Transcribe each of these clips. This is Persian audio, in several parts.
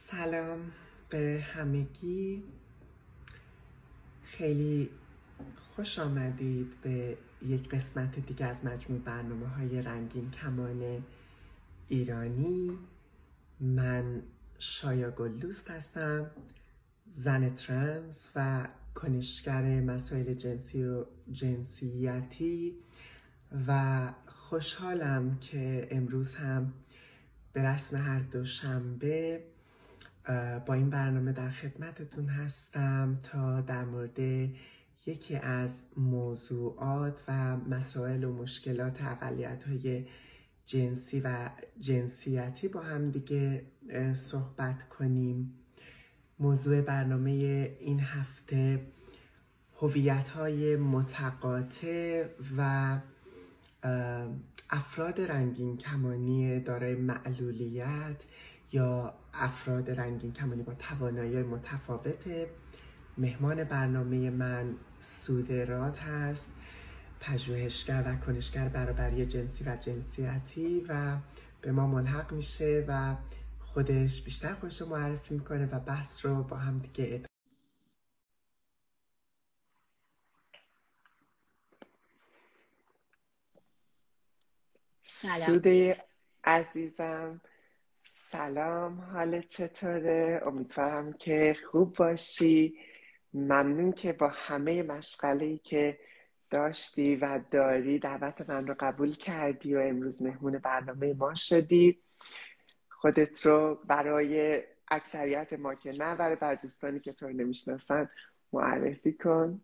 سلام به همگی. خیلی خوش آمدید به یک قسمت دیگه از مجموع برنامه‌های رنگین کمان ایرانی. من شایا گلدوست هستم، زن ترنس و کنشگر مسائل جنسی و جنسیتی و خوشحالم که امروز هم به رسم هر دوشنبه با این برنامه در خدمتتون هستم تا در مورد یکی از موضوعات و مسائل و مشکلات اقلیت‌های جنسی و جنسیتی با هم دیگه صحبت کنیم. موضوع برنامه این هفته هویت‌های متقاطع و افراد رنگین کمانی دارای معلولیت یا افراد رنگین کمانی با توانایی متفاوته. مهمان برنامه من سوده راد هست، پژوهشگر و کنشگر برابری جنسی و جنسیتی و به ما ملحق میشه و خودش بیشتر خودش رو معرفی میکنه و بحث رو با هم دیگه ادامه. سوده عزیزم سلام، حالت چطوره؟ امیدوارم که خوب باشی. ممنون که با همه مشغله‌ای که داشتی و داری دعوت من رو قبول کردی و امروز مهمون برنامه ما شدی. خودت رو برای اکثریت ما که نه، برای دوستانی که تو رو نمیشناسن معرفی کن.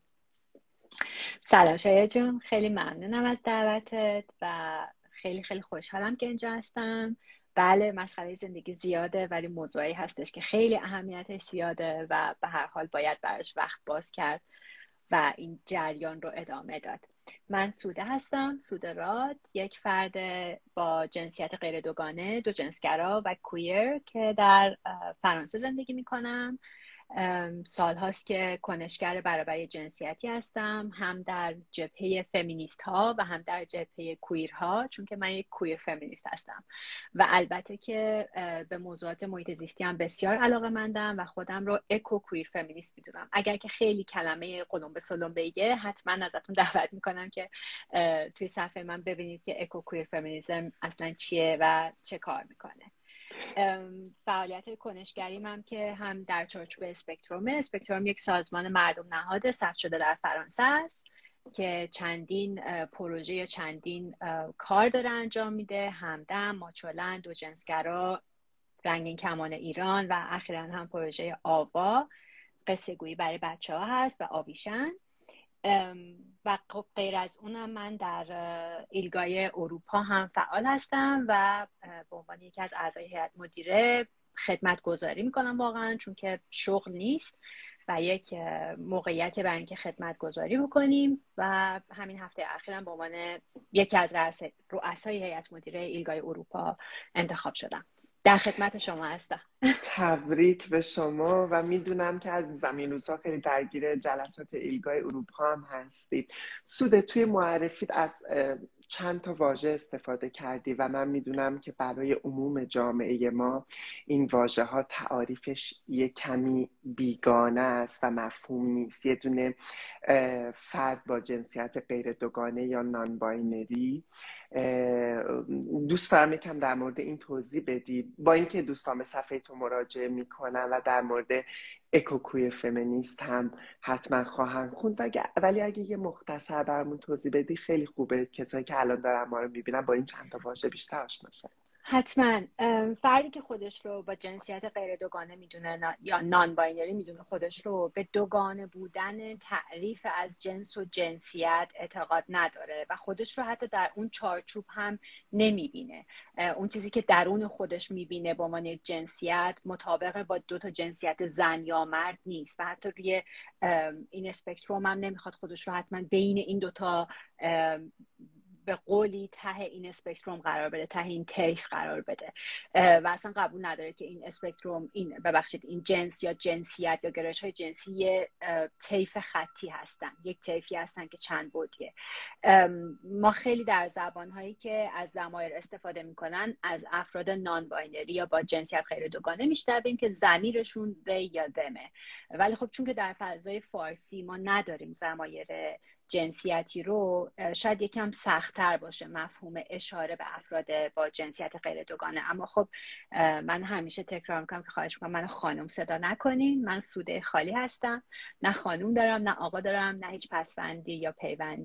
سلام شایا جون، خیلی ممنونم از دعوتت و خیلی خوشحالم که اینجا هستم. بله، مشغله زندگی زیاده ولی موضوعی هستش که خیلی اهمیتش زیاده و به هر حال باید براش وقت باز کرد و این جریان رو ادامه داد. من سوده هستم، سوده راد، یک فرد با جنسیت غیر دوگانه، دو جنسگرا و کویر که در فرانسه زندگی میکنم. سال هاست که کنشگر برابری جنسیتی هستم، هم در جبهه فمینیست ها و هم در جبهه کویر ها، چون که من یک کویر فمینیست هستم و البته که به موضوعات محیط زیستی هم بسیار علاقه‌مندم و خودم رو اکو کویر فمینیست میدونم. اگر که خیلی کلمه قلم به سلم بگه حتما ازتون دعوت میکنم که توی صفحه من ببینید که اکو کویر فمینیسم اصلا چیه و چه کار میکنه. فعالیت کنشگریم هم که هم در چارچوب اسپکتروم یک سازمان مردم نهاد ثبت شده در فرانسه است که چندین پروژه یا چندین کار داره انجام میده: همدم، ماچولند، دو جنسگرا، رنگین کمان ایران و اخیراً هم پروژه آوا، قصه گویی برای بچه ها هست و آویشن. و غیر از اونم من در ایلگای اروپا هم فعال هستم و به عنوان یکی از اعضای هیئت مدیره خدمت گذاری میکنم، واقعا چون که شغل نیست و یک موقعیت برای اینکه خدمت گذاری بکنیم و همین هفته اخیرم به عنوان یکی از رؤسای هیئت مدیره ایلگای اروپا انتخاب شدم. در خدمت شما هستم. تبریک به شما و میدونم که از زمین روزها خیلی درگیر جلسات ایلگای اروپا هم هستید. سوده، توی معرفیت از چند تا واژه استفاده کردی و من میدونم که برای عموم جامعه ما این واژه ها تعاریفش یه کمی بیگانه است و مفهوم نیست. یه دونه فرد با جنسیت غیر دوگانه یا نان باینری، دوست دارم یکم در مورد این توضیح بدی، با اینکه دوستان به صفحه تو مراجعه میکنن و در مورد اکوکویر فمینیست هم حتما خواهند خوند، ولی اگه یه مختصر برامون توضیح بدی خیلی خوبه، کسایی که الان دارن ما رو میبینن با این چند تا واژه بیشتر آشنا شن. حتما. فردی که خودش رو با جنسیت غیر دوگانه میدونه یا نان باینری میدونه خودش رو، به دوگانه بودن تعریف از جنس و جنسیت اعتقاد نداره و خودش رو حتی در اون چارچوب هم نمیبینه. اون چیزی که درون خودش میبینه با عنوان جنسیت مطابق با دو تا جنسیت زن یا مرد نیست و حتی روی این اسپکتروم هم نمیخواد خودش رو حتما بین این دوتا به قولی ته این اسپکتروم قرار بده، ته این طیف قرار بده و اصلا قبول نداره که این اسپکتروم، این جنس یا جنسیت یا گرایش های جنسی طیف خطی هستن، یک طیفی هستن که چند بعدیه. ما خیلی در زبانهایی که از ضمایر استفاده میکنن از افراد نان باینری یا با جنسیت غیر دوگانه میشنویم که ضمیرشون they یا themه، ولی خب چون که در فضای فارسی ما نداریم ضمایر جنسیتی رو، شاید یکم سخت‌تر باشه مفهوم اشاره به افراد با جنسیت غیر دوگانه. اما خب من همیشه تکرار میکنم که خواهش میکنم منو خانم صدا نکنین، من سوده خالی هستم، نه خانم دارم نه آقا دارم نه هیچ پسوندی یا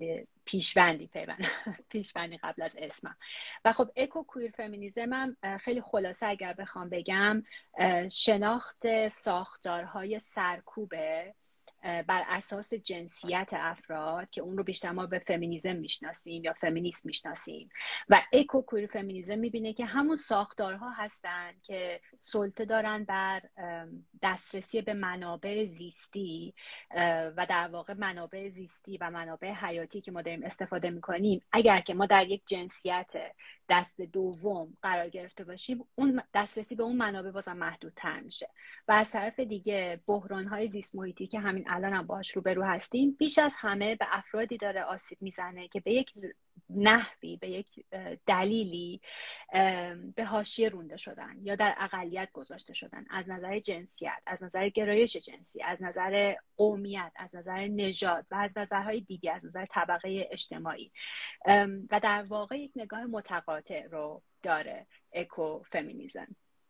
پیشوندی قبل از اسمم. و خب اکو کویر فمینیزم هم خیلی خلاصه اگر بخوام بگم شناخت ساختارهای سرکوبه بر اساس جنسیت افراد که اون رو بیشتر ما به فمینیزم میشناسیم یا فمینیسم میشناسیم، و اکو کویر فمینیزم میبینه که همون ساختارها هستن که سلطه دارن بر دسترسی به منابع زیستی و در واقع منابع زیستی و منابع حیاتی که ما داریم استفاده میکنیم اگر که ما در یک جنسیت دست دوم قرار گرفته باشیم، اون دسترسی به اون منابع بازم محدودتر میشه. و از طرف دیگه بحران‌های زیست محیطی که همین الان هم باهاش روبرو هستیم بیش از همه به افرادی داره آسیب میزنه که به یک نحوی، به یک دلیلی به حاشیه رونده شدن یا در اقلیت گذاشته شدن، از نظر جنسیت، از نظر گرایش جنسی، از نظر قومیت، از نظر نژاد و از نظرهای دیگه، از نظر طبقه اجتماعی. و در واقع یک نگاه متقاطع رو داره اکو فمینیزم.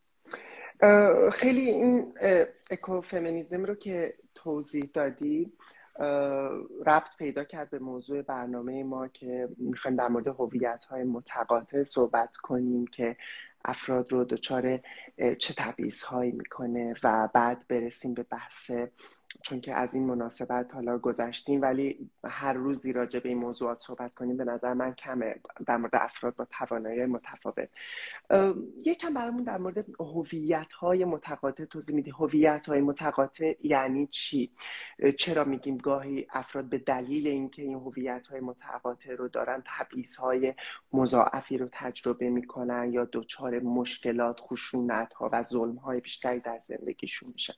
خیلی این اکوفمینیزم رو که توضیح دادی ربط پیدا کرد به موضوع برنامه ما که میخوایم در مورد هویت‌های متقاطع صحبت کنیم که افراد رو دچار چه تبعیض‌هایی میکنه و بعد برسیم به بحث، چون که از این مناسبت حالا گذشتیم ولی هر روزی راجع به این موضوعات صحبت کنیم به نظر من کمه در مورد افراد با توانایی متفاوت. یکم برامون در مورد هویت‌های متقاطع توضیح میدی. هویت‌های متقاطع یعنی چی؟ چرا میگیم گاهی افراد به دلیل اینکه این هویت‌های متقاطع رو دارن تبعیض‌های مضاعفی رو تجربه میکنن یا دچار مشکلات، خشونت‌ها و ظلم‌های بیشتری در زندگیشون میشن؟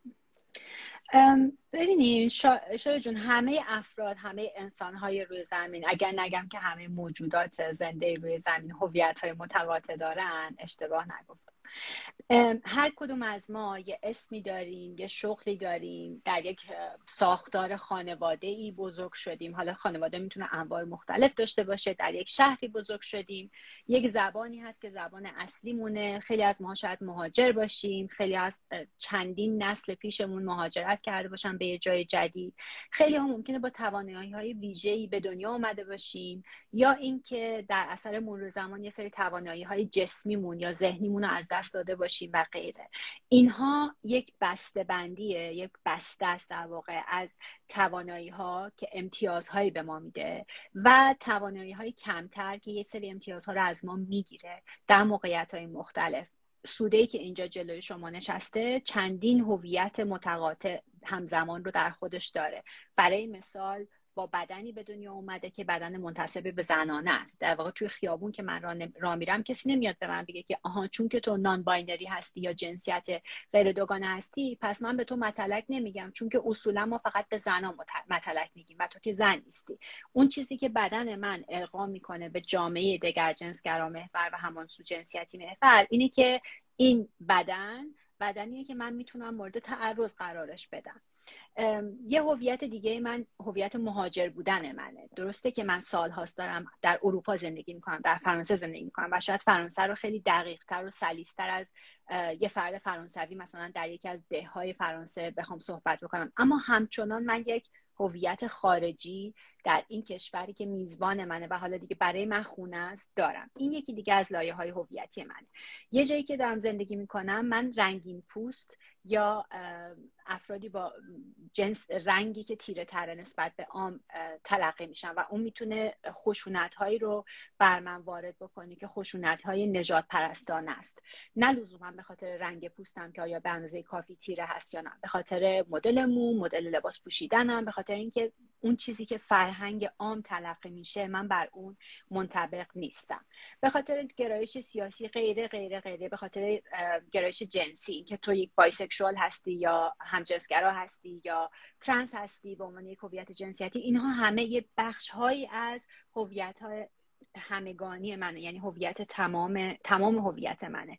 ببینید شاید جون، همه افراد، همه انسان‌های روی زمین، اگر نگم که همه موجودات زنده روی زمین هویت‌های متقاطع دارن، اشتباه نگفتم. هر کدوم از ما یه اسمی داریم، یه شغلی داریم، در یک ساختار خانواده‌ای بزرگ شدیم. حالا خانواده میتونه انواع مختلف داشته باشه. در یک شهری بزرگ شدیم، یک زبانی هست که زبان اصلی مونه. خیلی از ما شاید مهاجر باشیم، خیلی از چندین نسل پیشمون مهاجرت کرده باشن به یه جای جدید. خیلی ها ممکنه با توانایی‌های ویژه‌ای به دنیا اومده باشیم، یا اینکه در اثر مرور زمان یه سری توانایی‌های جسمیمون یا ذهنیمون رو از دست داده باشیم و غیره. اینها یک بسته بندیه، یک بسته است در واقع از توانایی ها که امتیازهایی به ما میده و توانایی های کمتر که یه سری امتیازها رو از ما میگیره در موقعیت های مختلف. سوده‌ای که اینجا جلوی شما نشسته چندین هویت متقاطع همزمان رو در خودش داره. برای مثال با بدنی به دنیا اومده که بدن منتسب به زنانه است. در واقع توی خیابون که من راه میرم کسی نمیاد به من بگه که آها چون که تو نان باینری هستی یا جنسیت غیر دوگانه هستی پس من به تو متلک نمیگم، چون که اصولا ما فقط به زنان متلک میگیم و تو که زن نیستی. اون چیزی که بدن من القا میکنه به جامعه دگرجنسگرا محور و همانسو جنسیتی محور اینه که این بدنیه که من میتونم مورد تعرض قرارش بدم. یه هویت دیگه من هویت مهاجر بودن منه. درسته که من سال‌هاست دارم در اروپا زندگی میکنم، در فرانسه زندگی میکنم و شاید فرانسه رو خیلی دقیق‌تر و سلیس‌تر از یه فرد فرانسوی مثلا در یکی از ده‌های فرانسه بخوام صحبت بکنم، اما همچنان من یک هویت خارجی در این کشوری که میزبان منه و حالا دیگه برای من خونه است دارم. این یکی دیگه از لایه‌های هویتی منه. یه جایی که دارم زندگی میکنم من رنگین پوست یا افرادی با جنس رنگی که تیره تره نسبت به عام تلقی میشن و اون میتونه خشونت‌هایی رو بر من وارد بکنه که خشونت‌های نژاد پرستانه است. نه لزوما به خاطر رنگ پوستم که آیا به اندازه کافی تیره هست یا نه، به خاطر مدل مو، مدل لباس پوشیدنم، به خاطر خاطر اینکه اون چیزی که فرهنگ عام تلقی میشه من بر اون منطبق نیستم، به خاطر گرایش سیاسی غیره غیره غیره، به خاطر گرایش جنسی که تو یک بایسکشوال هستی یا همجنسگرا هستی یا ترنس هستی به عنوان یک هویت جنسیتی، اینها همه یه بخش هایی از هویت های همگانی منه، یعنی هویت تمام هویت منه.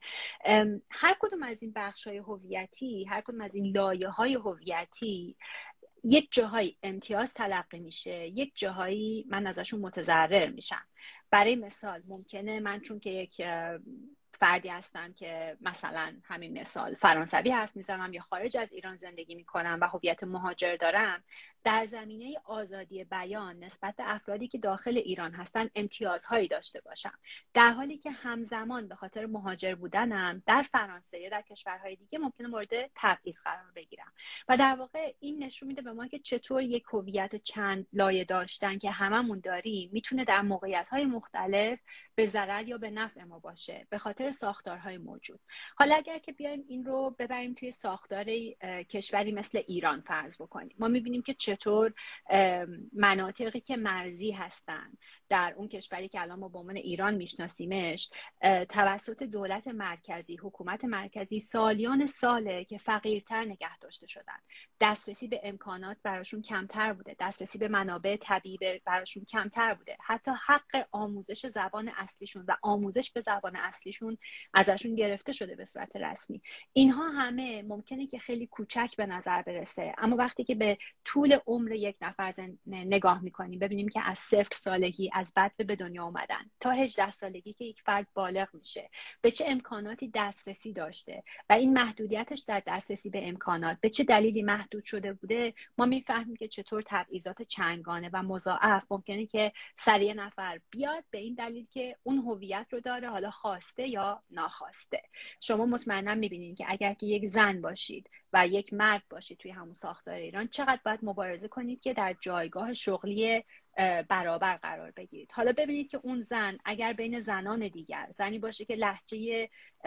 هر کدوم از این بخش های هویتی، هر کدوم از این لایه های هویتی یک جاهایی امتیاز تلقی میشه، یک جاهایی من ازشون متضرر میشم. برای مثال ممکنه من چون که یک فردی هستم که مثلا همین مثال فرانسوی حرف میزنم یا خارج از ایران زندگی میکنم و هویت مهاجر دارم، در زمینه آزادی بیان نسبت به افرادی که داخل ایران هستن امتیازهایی داشته باشم، در حالی که همزمان به خاطر مهاجر بودنم در فرانسه یا در کشورهای دیگه ممکنه مورد تبعیض قرار بگیرم. و در واقع این نشون میده به ما که چطور یک هویت چند لایه داشتن که هممون داریم میتونه در موقعیت‌های مختلف به ضرر یا به نفع ما باشه به خاطر ساختارهای موجود. حالا اگر که بیایم این رو ببریم توی ساختار کشوری مثل ایران فرض بکنیم، ما میبینیم که چطور مناطقی که مرزی هستن در اون کشوری که الان ما به عنوان ایران میشناسیمش توسط دولت مرکزی، حکومت مرکزی سالیان ساله که فقیرتر نگه داشته شدن، دسترسی به امکانات براشون کمتر بوده، دسترسی به منابع طبیعی براشون کمتر بوده، حتی حق آموزش زبان اصلیشون و آموزش به زبان اصلیشون ازشون گرفته شده به صورت رسمی. اینها همه ممکنه که خیلی کوچک به نظر برسه، اما وقتی که به طول عمر یک نفر نگاه میکنیم ببینیم که از 0 سالگی از بطن به دنیا اومدن تا 18 سالگی که یک فرد بالغ میشه به چه امکاناتی دسترسی داشته و این محدودیتش در دسترسی به امکانات به چه دلیلی محدود شده بوده، ما میفهمیم که چطور تبعیضات چندگانه و مضاعف ممکنه که سر یه نفر بیاد به این دلیل که اون هویت رو داره، حالا خواسته یا ناخواسته. شما مطمئنا میبینید که اگر که یک زن باشید و یک مرد باشید توی همون ساختار ایران چقدر باید مبارزه کنید که در جایگاه شغلی برابر قرار بگیرید. حالا ببینید که اون زن اگر بین زنان دیگر زنی باشه که لهجه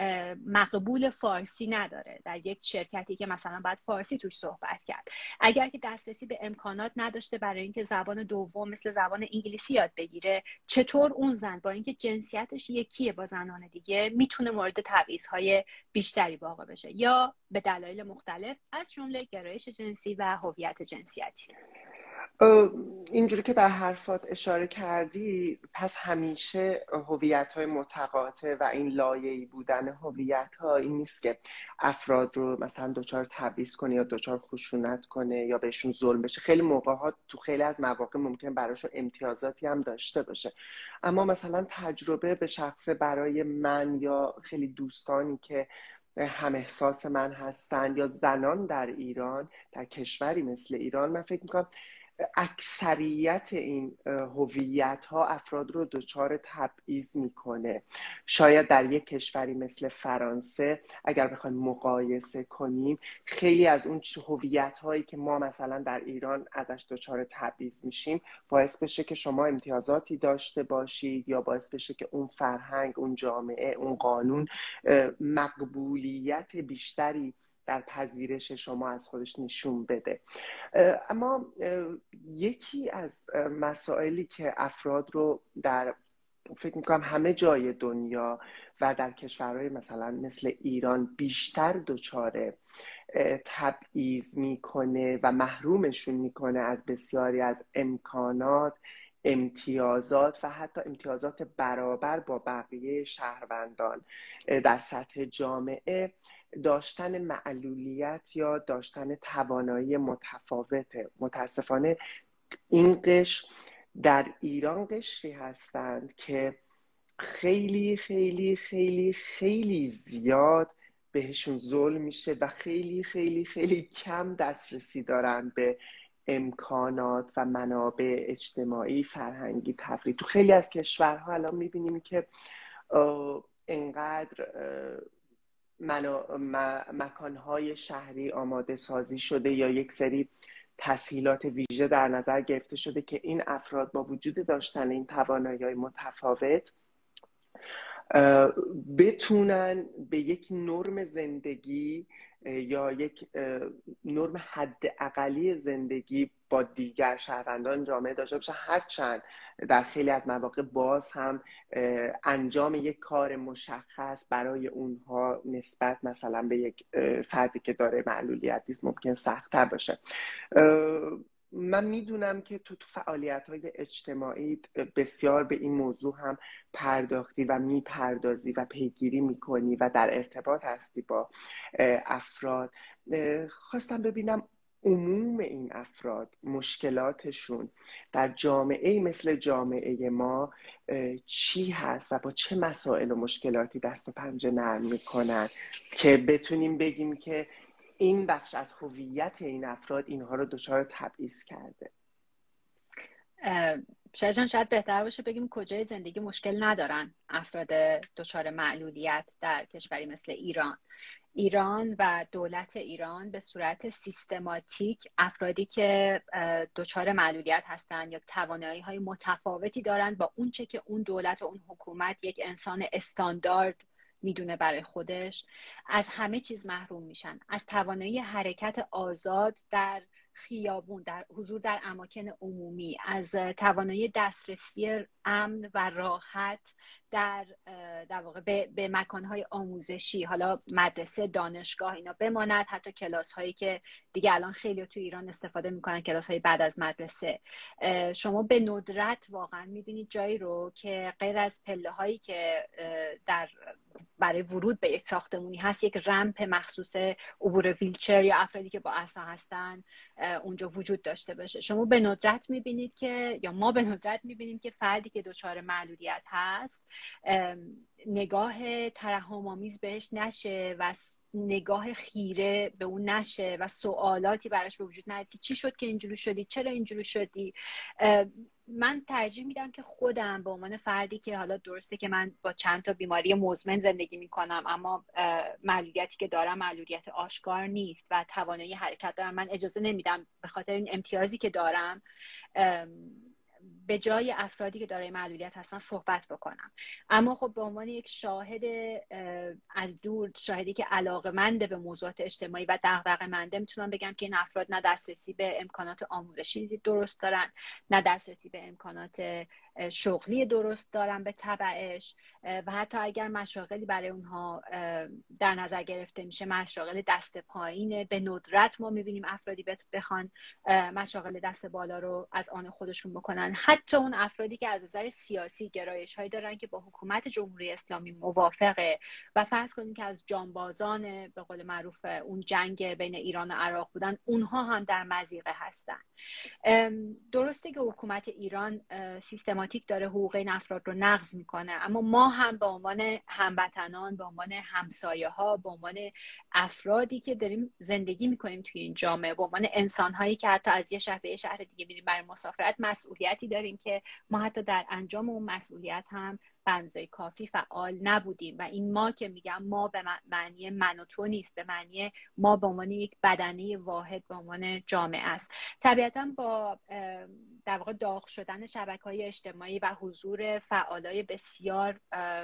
مقبول فارسی نداره در یک شرکتی که مثلا باید فارسی توش صحبت کرد، اگر که دسترسی به امکانات نداشته برای اینکه زبان دوم مثل زبان انگلیسی یاد بگیره، چطور اون زن با اینکه جنسیتش یکیه با زنان دیگه میتونه مورد تبعیض‌های بیشتری واقع بشه یا به دلایل مختلف از جمله گرایش جنسی و هویت جنسیتی. اینجوری که در حرفات اشاره کردی، پس همیشه هویت‌های متقاطع و این لایه‌ای بودن هویت‌ها این نیست که افراد رو مثلا دچار تبعیض کنه یا دچار خشونت کنه یا بهشون ظلم بشه. خیلی موقع‌ها تو خیلی از مواقع ممکن براشون امتیازاتی هم داشته باشه، اما مثلا تجربه به شخصه برای من یا خیلی دوستانی که هم احساس من هستن یا زنان در ایران، در کشوری مثل ایران، من فکر می‌کنم اکثریت این هویت ها افراد رو دچار تبعیض میکنه. شاید در یک کشوری مثل فرانسه اگر بخوایم مقایسه کنیم، خیلی از اون هویت هایی که ما مثلا در ایران ازش دچار تبعیض میشیم باعث بشه که شما امتیازاتی داشته باشید یا باعث بشه که اون فرهنگ، اون جامعه، اون قانون مقبولیت بیشتری در پذیرش شما از خودش نشون بده. اما یکی از مسائلی که افراد رو در فکر میکنم همه جای دنیا و در کشورهای مثلا مثل ایران بیشتر دچار تبعیض میکنه و محرومشون میکنه از بسیاری از امکانات، امتیازات و حتی امتیازات برابر با بقیه شهروندان در سطح جامعه، داشتن معلولیت یا داشتن توانایی متفاوته. متاسفانه این قشر در ایران قشری هستند که خیلی خیلی خیلی خیلی زیاد بهشون ظلم میشه و خیلی خیلی خیلی کم دسترسی دارن به امکانات و منابع اجتماعی، فرهنگی، تفریحی. تو خیلی از کشورها الان میبینیم که اینقدر مکانهای شهری آماده سازی شده یا یک سری تسهیلات ویژه در نظر گرفته شده که این افراد با وجود داشتن این توانایی‌های متفاوت بتونن به یک نرم زندگی یا یک نرم حد اقلی زندگی با دیگر شهروندان جامعه داشته باشن، هرچند در خیلی از مواقع باز هم انجام یک کار مشخص برای اونها نسبت مثلا به یک فردی که داره معلولیت نیست ممکن سخت‌تر باشه. من میدونم که تو فعالیت‌های اجتماعی بسیار به این موضوع هم پرداختی و میپردازی و پیگیری میکنی و در ارتباط هستی با افراد. خواستم ببینم عموم این افراد مشکلاتشون در جامعه مثل جامعه ما چی هست و با چه مسائل و مشکلاتی دست و پنجه نرم میکنن که بتونیم بگیم که این بخش از هویت این افراد اینها رو دچار تبعیض کرده. شاید بهتر باشه بگیم کجای زندگی مشکل ندارن افراد دچار معلولیت در کشوری مثل ایران و دولت ایران به صورت سیستماتیک افرادی که دچار معلولیت هستن یا توانایی‌های متفاوتی دارن با اون چه که اون دولت و اون حکومت یک انسان استاندارد میدونه برای خودش، از همه چیز محروم میشن. از توانایی حرکت آزاد در خیابون، در حضور در اماکن عمومی، از توانایی دسترسی امن و راحت در واقع به مکانهای آموزشی، حالا مدرسه، دانشگاه اینا بماند، حتی کلاس هایی که دیگه الان خیلی تو ایران استفاده میکنن، کلاس های بعد از مدرسه. شما به ندرت واقعا میبینید جایی رو که غیر از پله هایی که برای ورود به یک ساختمونی هست، یک رمپ مخصوص عبور ویلچر یا افرادی که با عصا هستن اونجا وجود داشته باشه. شما به ندرت میبینید که، یا ما به ندرت میبینیم که فردی که دچار معلولیت هست نگاه ترحم‌آمیز بهش نشه و نگاه خیره به اون نشه و سوالاتی براش به وجود نیاد که چی شد که اینجوری شدی، چرا اینجوری شدی. من ترجیح میدم که خودم به عنوان فردی که حالا درسته که من با چند تا بیماری مزمن زندگی میکنم، اما معلولیتی که دارم معلولیت آشکار نیست و توانایی حرکت دارم، من اجازه نمیدم به خاطر این امتیازی که دارم به جای افرادی که دارای معلولیت هستن صحبت بکنم. اما خب به عنوان یک شاهد از دور، شاهدی که علاقه‌مند به موضوعات اجتماعی و دغدغه‌منده، میتونم بگم که این افراد نه دسترسی به امکانات آموزشی درست دارن، نه دسترسی به امکانات شغلی درست دارن به تبعش، و حتی اگر مشاغلی برای اونها در نظر گرفته میشه، مشاغل دست پایینه. به ندرت ما میبینیم افرادی بخوان مشاغل دست بالا رو از آن خودشون بکنن. حتی اون افرادی که از نظر سیاسی گرایش هایی دارن که با حکومت جمهوری اسلامی موافقه و فرض کنیم که از جانبازان به قول معروف اون جنگ بین ایران و عراق بودن، اونها هم در مضیقه هستن. درسته که حکومت ایران سیستماتیک داره حقوق این افراد رو نقض میکنه، اما ما هم به عنوان هموطنان، به عنوان همسایه ها، به عنوان افرادی که داریم زندگی میکنیم توی این جامعه، به عنوان انسان هایی که حتی از یه شهر به یه شهر دیگه میریم برای مسافرت، مسئولیتی داریم که ما حتی در انجام اون مسئولیت هم به اندازه کافی فعال نبودیم. و این ما که میگم ما به معنی من و تو نیست، به معنی ما به عنوان یک بدنه واحد به عنوان جامعه است. طبیعتا با در واقع داغ شدن شبکه‌های اجتماعی و حضور فعالای بسیار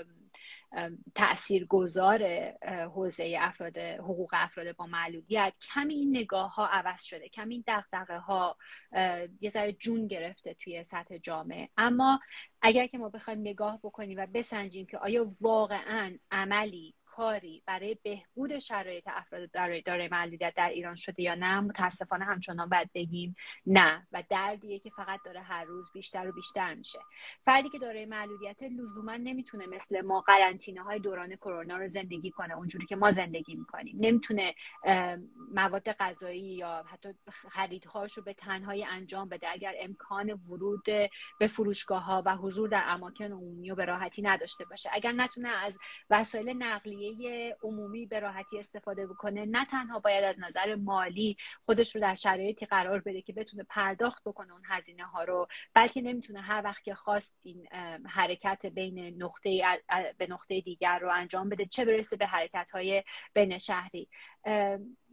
تاثیرگذار حوزه حقوق افراد با معلولیت، کمی این نگاه ها عوض شده، کمی این دغدغه ها یه ذره جون گرفته توی سطح جامعه. اما اگر که ما بخوایم نگاه بکنیم و بسنجیم که آیا واقعاً عملی، کاری برای بهبود شرایط افراد دارای معلولیت در ایران شده یا نه، متاسفانه همچنان باید بگیم نه، و دردیه که فقط داره هر روز بیشتر و بیشتر میشه. فردی که دارای معلولیت لزوما نمیتونه مثل ما قرنطینه های دوران کرونا رو زندگی کنه اونجوری که ما زندگی میکنیم. نمیتونه مواد غذایی یا حتی خریدهاش رو به تنهایی انجام بده اگر امکان ورود به فروشگاه ها و حضور در اماکن عمومی رو به راحتی نداشته باشه. اگر نتونه از وسایل نقلیه عمومی به راحتی استفاده بکنه، نه تنها باید از نظر مالی خودش رو در شرایطی قرار بده که بتونه پرداخت بکنه اون هزینه ها رو، بلکه نمیتونه هر وقت که خواست این حرکت بین نقطه به نقطه دیگر رو انجام بده، چه برسه به حرکت های بین شهری.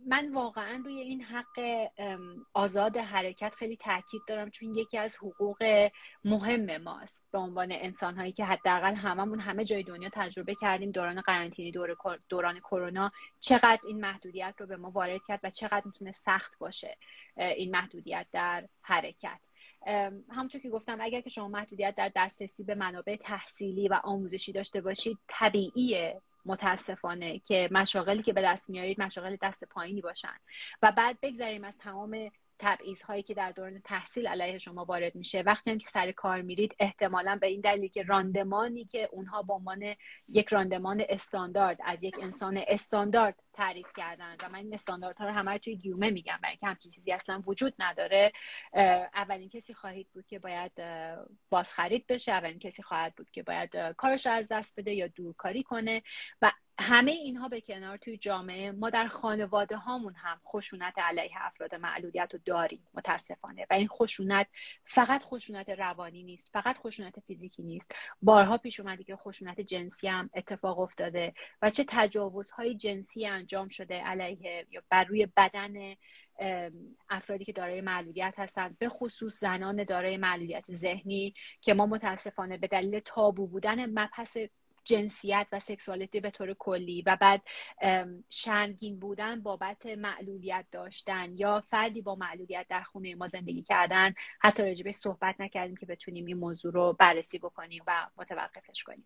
من واقعا روی این حق آزاد حرکت خیلی تاکید دارم، چون یکی از حقوق مهم ماست به عنوان انسان‌هایی که حداقل هممون همه جای دنیا تجربه کردیم دوران قرنطینه، دوران کرونا چقدر این محدودیت رو به ما وارد کرد و چقدر میتونه سخت باشه این محدودیت در حرکت. همونطور که گفتم اگر که شما محدودیت در دسترسی به منابع تحصیلی و آموزشی داشته باشید، طبیعیه متاسفانه که مشاغلی که به دست میارید مشاغل دست پایینی باشن و بعد بگذاریم از تمام تبعیض‌هایی که در دوران تحصیل علیه شما وارد میشه. وقتی هم که سر کار میرید احتمالاً به این دلیل که راندمانی که اونها به عنوان یک راندمان استاندارد از یک انسان استاندارد تعریف کردن و من این استانداردها رو همه توی گیومه میگم برای اینکه همچین چیزی اصلا وجود نداره، اولین کسی خواهید بود که باید بازخرید بشه، اولین کسی خواهد بود که باید کارش از دست بده یا دورکاری کنه و همه اینها به کنار توی جامعه ما در خانواده هامون هم خشونت علیه افراد معلولیت رو داریم متاسفانه و این خشونت فقط خشونت روانی نیست، فقط خشونت فیزیکی نیست. بارها پیش اومده که خشونت جنسی هم اتفاق افتاده و چه تجاوزهای جنسی انجام شده علیه یا بر روی بدن افرادی که دارای معلولیت هستند، به خصوص زنان دارای معلولیت ذهنی که ما متاسفانه به دلیل تابو بودن مبحث جنسیت و سکسوالیتی به طور کلی و بعد شرمگین بودن بابت معلولیت داشتن یا فردی با معلولیت در خونه ما زندگی کردن حتی راجبش صحبت نکردیم که بتونیم این موضوع رو بررسی بکنیم و متوقفش کنیم.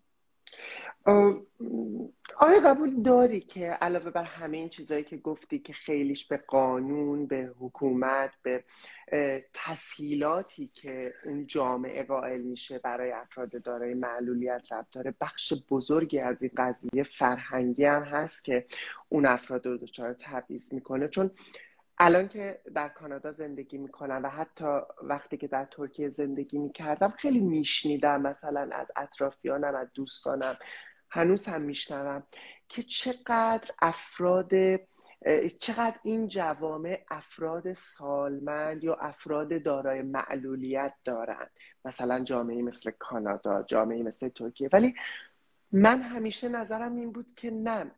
آیا قبول داری که علاوه بر همه این چیزایی که گفتی که خیلیش به قانون، به حکومت، به تسهیلاتی که اون جامعه قائل میشه برای افراد دارای معلولیت ربط داره، بخش بزرگی از این قضیه فرهنگی هم هست که اون افراد رو دچار تبعیض میکنه؟ چون الان که در کانادا زندگی میکنم و حتی وقتی که در ترکیه زندگی میکردم خیلی میشنیدم مثلا از اطرافیانم، از دوستانم، هنوز هم میشنوم که چقدر این جوامع افراد سالمند یا افراد دارای معلولیت دارن، مثلا جامعه مثل کانادا، جامعه مثل ترکیه. ولی من همیشه نظرم این بود که نه،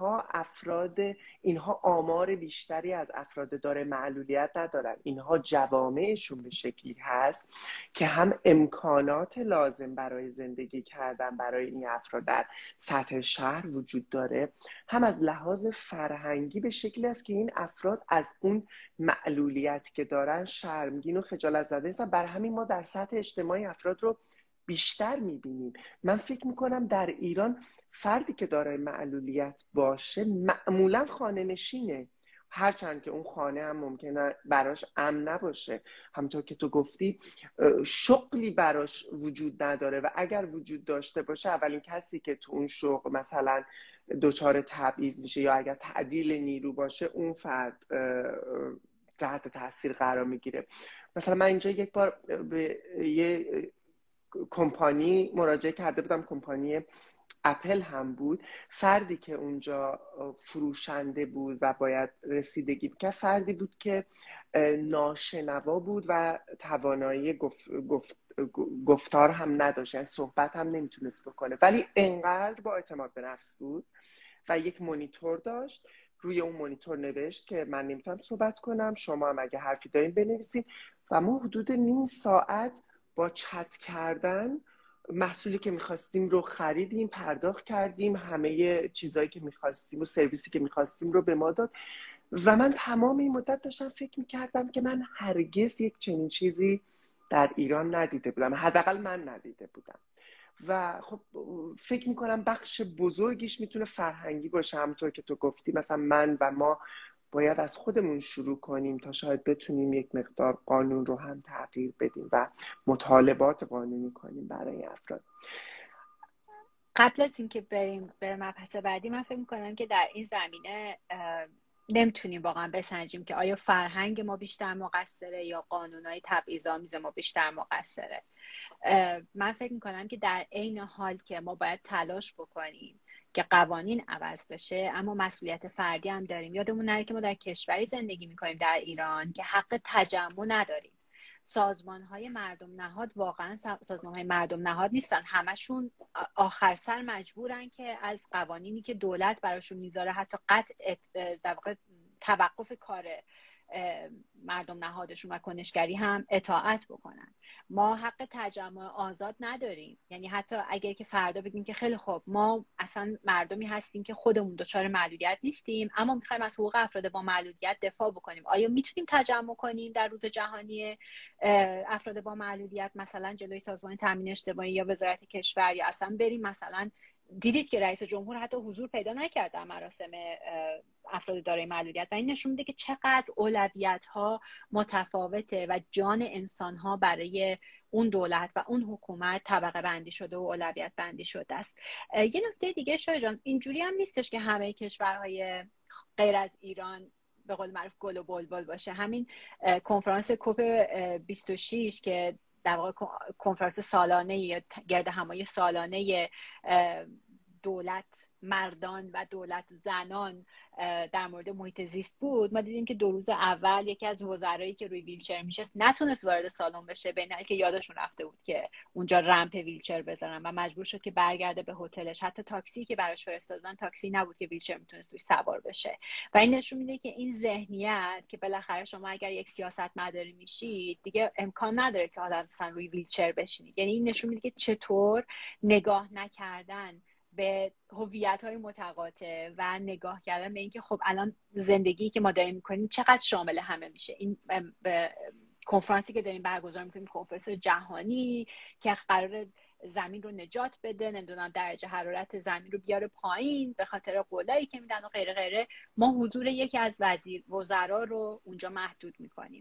اینها آمار بیشتری از افراد دارای معلولیت ندارن. اینها جوامعشون به شکلی هست که هم امکانات لازم برای زندگی کردن برای این افراد در سطح شهر وجود داره، هم از لحاظ فرهنگی به شکلی است که این افراد از اون معلولیت که دارن شرمگین و خجالت زده نیستن. بر همین ما در سطح اجتماعی افراد رو بیشتر میبینیم. من فکر میکنم در ایران فردی که دارای معلولیت باشه معمولا خانه نشینه، هرچند که اون خانه هم ممکنه براش امن نباشه. همونطور که تو گفتی شغلی براش وجود نداره و اگر وجود داشته باشه اولین کسی که تو اون شغل مثلا دچار تبعیض میشه یا اگر تعدیل نیرو باشه اون فرد تحت تاثیر قرار میگیره. مثلا من اینجا یک بار به یه کمپانی مراجعه کرده بودم، کمپانی اپل هم بود. فردی که اونجا فروشنده بود و باید رسیدگی بکرد فردی بود که ناشنوا بود و توانایی گفتار هم نداشت، یعنی صحبت هم نمیتونست بکنه، ولی انقدر با اعتماد به نفس بود و یک مانیتور داشت. روی اون مانیتور نوشت که من نمیتونم صحبت کنم، شما هم اگه حرفی دارین بنویسین. و ما حدود نیم ساعت با چت کردن محصولی که میخواستیم رو خریدیم، پرداخت کردیم، همه چیزایی که میخواستیم و سرویسی که میخواستیم رو به ما داد. و من تمام این مدت داشتم فکر میکردم که من هرگز یک چنین چیزی در ایران ندیده بودم، حداقل من ندیده بودم. و خب فکر میکنم بخش بزرگیش میتونه فرهنگی باشه. همونطور که تو گفتی مثلا من و ما باید از خودمون شروع کنیم تا شاید بتونیم یک مقدار قانون رو هم تغییر بدیم و مطالبات قانونی کنیم برای افراد. قبل از اینکه بریم به مبحث بعدی، من فکر میکنم که در این زمینه نمیتونیم واقعا بسنجیم که آیا فرهنگ ما بیشتر مقصره یا قانونهای تبعیض‌آمیز ما بیشتر مقصره. من فکر میکنم که در عین حال که ما باید تلاش بکنیم که قوانین عوض بشه، اما مسئولیت فردی هم داریم. یادمون نره که ما در کشوری زندگی میکنیم در ایران که حق تجمع نداریم. سازمان‌های مردم نهاد واقعا سازمان‌های مردم نهاد نیستن، همشون آخر سر مجبورن که از قوانینی که دولت براشون میذاره حتی قطع در واقع توقف کار مردم نهادشون و کنشگری هم اطاعت بکنن. ما حق تجمع آزاد نداریم، یعنی حتی اگر که فردا بگیم که خیلی خوب ما اصلا مردمی هستیم که خودمون دچار معلولیت نیستیم اما میخوایم از حقوق افراد با معلولیت دفاع بکنیم، آیا میتونیم تجمع کنیم در روز جهانی افراد با معلولیت، مثلا جلوی سازمان تامین اجتماعی یا وزارت کشور، یا اصلا بریم مثلا دیدید که رئیس جمهور حتی حضور پیدا نکرد در مراسم افراد دارای معلولیت و این نشون میده که چقدر اولویت‌ها متفاوته و جان انسان‌ها برای اون دولت و اون حکومت طبقه بندی شده و اولویت بندی شده است. یه نکته دیگه شایع جان، اینجوری هم نیستش که همه کشورهای غیر از ایران به قول معروف گل و بلبل باشه. همین کنفرانس کوپ 26 که در واقع کنفرانس سالانه یا گرد همایی سالانه دولت مردان و دولت زنان در مورد محیط زیست بود، ما دیدیم که 2 روز اول یکی از وزرایی که روی ویلچر میشست نتونست وارد سالن بشه، بین که یادشون رفته بود که اونجا رمپ ویلچر بذارن و مجبور شد که برگرده به هتلش. حتی تاکسی که براش فرستادن تاکسی نبود که ویلچر میتونست توش سوار بشه. و این نشون میده که این ذهنیت که بالاخره شما اگر یک سیاستمداری میشید دیگه امکان نداره که آدم مثلا روی ویلچر بشینید. یعنی این نشون میده که چطور نگاه نکردن به هویت‌های متقاطع و نگاه کردن به اینکه خب الان زندگی که ما داریم می‌کنیم چقدر شامل همه میشه. این کنفرانسی که داریم برگزار می‌کنیم کنفرانس جهانی که قرار زمین رو نجات بده، نمیدونم درجه حرارت زمین رو بیاره پایین به خاطر قولایی که میدن و غیره غیره، ما حضور یکی از وزرا رو اونجا محدود می‌کنیم.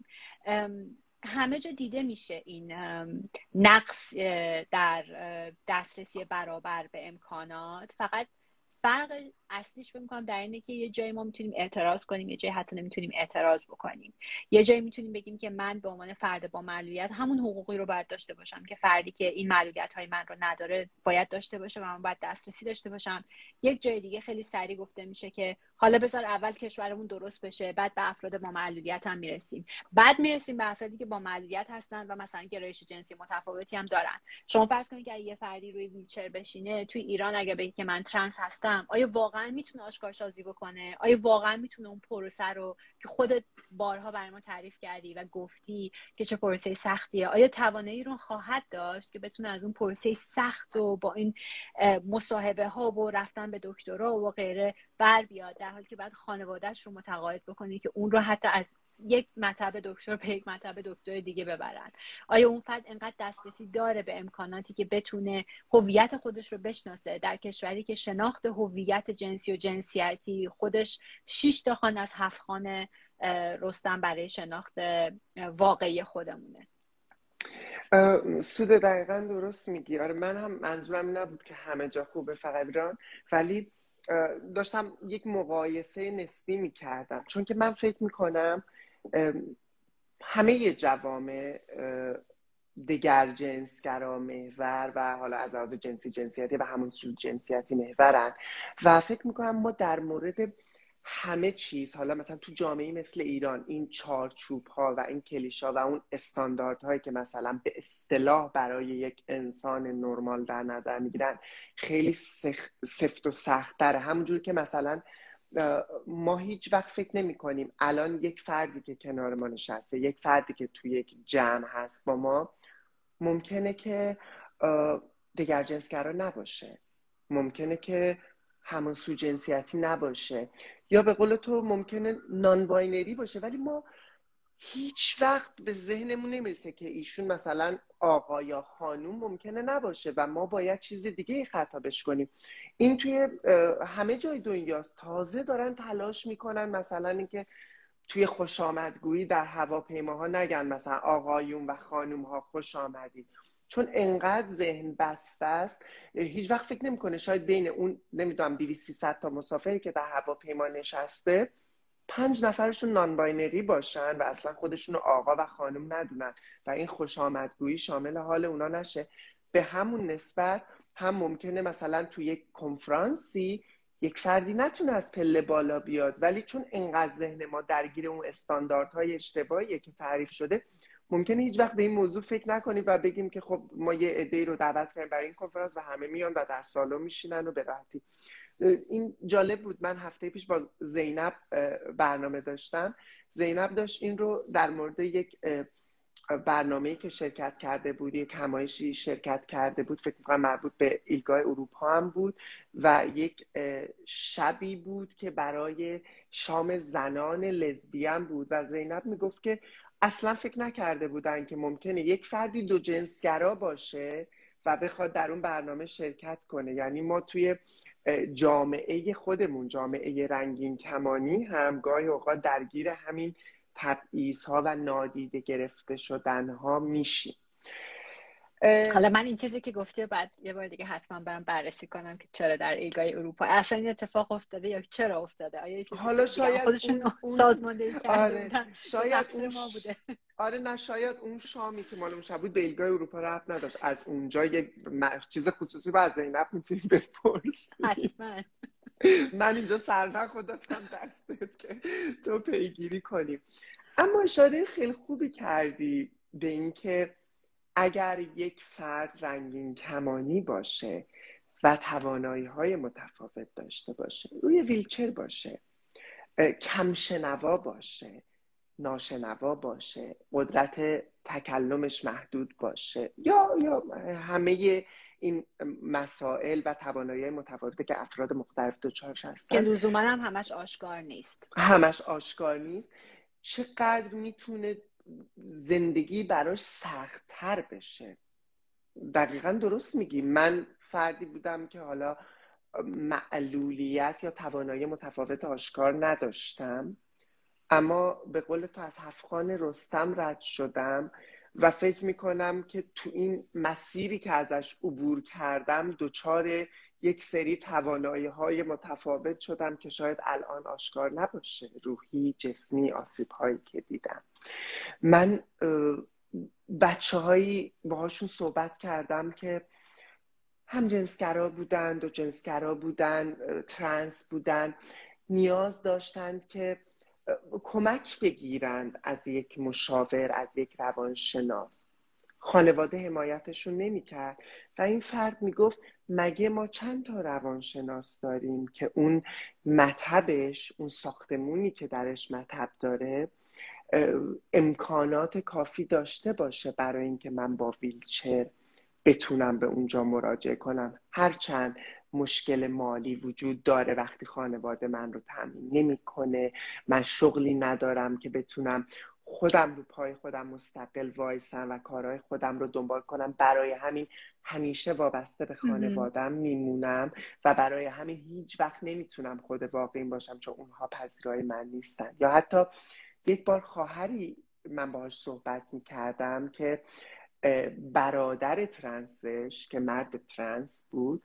همه جا دیده میشه این نقص در دسترسی برابر به امکانات. فقط فرق اصلیش فکر می‌کنم در اینه که یه جایی ما میتونیم اعتراض کنیم، یه جایی حتی نمیتونیم اعتراض بکنیم. یه جایی میتونیم بگیم که من به عنوان فرد با معلولیت همون حقوقی رو باید داشته باشم که فردی که این معلولیت‌های من رو نداره باید داشته باشه و من باید دسترسی داشته باشم. یک جای دیگه خیلی سریع گفته میشه که حالا بذار اول کشورمون درست بشه بعد به افراد با معلولیت هم میرسیم. بعد میرسیم به افرادی که با معلولیت هستن و مثلا گرایش جنسی متفاوتی هم دارن. شما فرض کنید که یه فردی روی ویلچر بشینه توی ایران، اگه بگه که من ترنس هستم، آیا واقعا میتونه آشکارسازی بکنه؟ آیا واقعا میتونه اون پروسه رو که خودت بارها برای ما تعریف کردی و گفتی که چه پروسه سختیه، آیا توانایی رو خواهد داشت که بتونه از اون پروسه سخت و با این مصاحبه ها و رفتن به دکترا و غیره بر بیاد، در حالی که بعد خانواده‌اش رو متقاعد بکنه که اون رو حتی از یک مطب دکتر به یک مطب دکتر دیگه ببرن؟ آیا اون فرد انقدر دسترسی داره به امکاناتی که بتونه هویت خودش رو بشناسه در کشوری که شناخت هویت جنسی و جنسیتی خودش 6 تا خانه از 7 خانه رستم برای شناخت واقعی خودمونه؟ سود دقیقا درست میگی. آره من هم منظورم نبود که همه جا خوبه فقط ایران، ولی داشتم یک مقایسه نسبی میکردم، چون که من فکر میکنم همه جوامع دگر جنسگرا محور و حالا از لحاظ جنسی جنسیتی و همون جنسیتی محورن و فکر میکنم ما در مورد همه چیز، حالا مثلا تو جامعه مثل ایران، این چارچوب ها و این کلیشه و اون استانداردهایی که مثلا به اصطلاح برای یک انسان نرمال در نظر میگیرن خیلی سفت و سخت‌تره. همونجور که مثلا ما هیچ وقت فکر نمی کنیم الان یک فردی که کنار ما نشسته، یک فردی که توی یک جمع هست با ما، ممکنه که دگر جنسگرا نباشه، ممکنه که همون سو جنسیتی نباشه، یا به قول تو ممکنه نان باینری باشه، ولی ما هیچ وقت به ذهنمون نمیرسه که ایشون مثلا آقا یا خانوم ممکنه نباشه و ما باید چیز دیگه خطابش کنیم. این توی همه جای دنیاست. تازه دارن تلاش میکنن مثلا اینکه توی خوش آمدگویی در هواپیماها نگن مثلا آقایون و خانوم ها خوش آمدید، چون انقدر ذهن بسته است. هیچ وقت فکر نمیکنه شاید بین اون نمیدونم 200-300 تا مسافری که در هواپیما نشسته 5 نفرشون نان باینری باشن و اصلا خودشون آقا و خانم ندونن و این خوش آمدگویی شامل حال اونا نشه. به همون نسبت هم ممکنه مثلا توی یک کنفرانسی یک فردی نتونه از پله بالا بیاد، ولی چون انقدر ذهن ما درگیر اون استانداردهای اشتباهیه که تعریف شده، ممکنه هیچ وقت به این موضوع فکر نکنیم و بگیم که خب ما یه عده‌ای رو دعوت کردیم برای این کنفرانس و همه میان و در سالن میشینن و به راحتی. این جالب بود. من هفته پیش با زینب برنامه داشتم. زینب داشت این رو در مورد یک برنامه‌ای که شرکت کرده بود، یک همایشی شرکت کرده بود، فکر می‌کنم مربوط به ایلگاه اروپا هم بود و یک شبی بود که برای شام زنان لزبیان بود و زینب میگفت که اصلا فکر نکرده بودن که ممکنه یک فردی دو جنسگرا باشه و بخواد در اون برنامه شرکت کنه. یعنی ما توی جامعه خودمون، جامعه رنگین کمانی هم گاهی اوقات درگیر همین تبعیض‌ها و نادیده گرفته شدن‌ها میشیم. حالا من این چیزی که گفتی بعد یه بار دیگه حتما برم بررسی کنم که چرا در ایلگاه اروپا اصلا این اتفاق افتاده یا چرا افتاده. آیا چیزی حالا که دیگه شاید خودشون اون سازماندهی کرده آره بودن شاید تقصیر ما بوده. آره نه، شاید اون شامی که مال اون شب بود به ایلگاه اروپا ربط نداشت. از اونجا یک چیز خصوصی با زینب میتونی بپرسی. حتما. من اینجا سرنخ دادم دستت که تو پیگیری کنی. اما اشاره خیلی خوبی کردی به اینکه اگر یک فرد رنگین کمانی باشه و توانایی‌های متفاوت داشته باشه، روی ویلچر باشه، کم شنوا باشه، ناشنوا باشه، قدرت تکلمش محدود باشه، یا همه این مسائل و توانایی متفاوته که افراد مختلف دچارش که هستن لزوما هم همش آشکار نیست. همش آشکار نیست، چقدر میتونه زندگی براش سخت‌تر بشه. دقیقا درست میگی. من فردی بودم که حالا معلولیت یا توانایی متفاوت آشکار نداشتم، اما به قول تو از هفت‌خوان رستم رد شدم و فکر میکنم که تو این مسیری که ازش عبور کردم دچار یک سری توانایی‌های متفاوت شدم که شاید الان آشکار نباشه، روحی، جسمی، آسیب‌هایی که دیدم. من بچه‌هایی باهاشون صحبت کردم که هم جنسگرا بودن، دو جنسگرا بودن، ترنس بودن، نیاز داشتند که کمک بگیرند از یک مشاور، از یک روانشناس. خانواده حمایتشون نمی‌کرد و این فرد میگفت مگه ما چند تا روانشناس داریم که اون مطبش، اون ساختمونی که درش مطب داره امکانات کافی داشته باشه برای اینکه من با ویلچر بتونم به اونجا مراجعه کنم. هرچند مشکل مالی وجود داره وقتی خانواده من رو تامین نمی‌کنه، من شغلی ندارم که بتونم خودم رو پای خودم مستقل وایسم و کارهای خودم رو دنبال کنم، برای همین همیشه وابسته به خانوادم میمونم و برای همین هیچ وقت نمیتونم خود واقعیم باشم چون اونها پذیرای من نیستن. یا حتی یک بار خواهری من باهاش صحبت میکردم که برادر ترنسش که مرد ترنس بود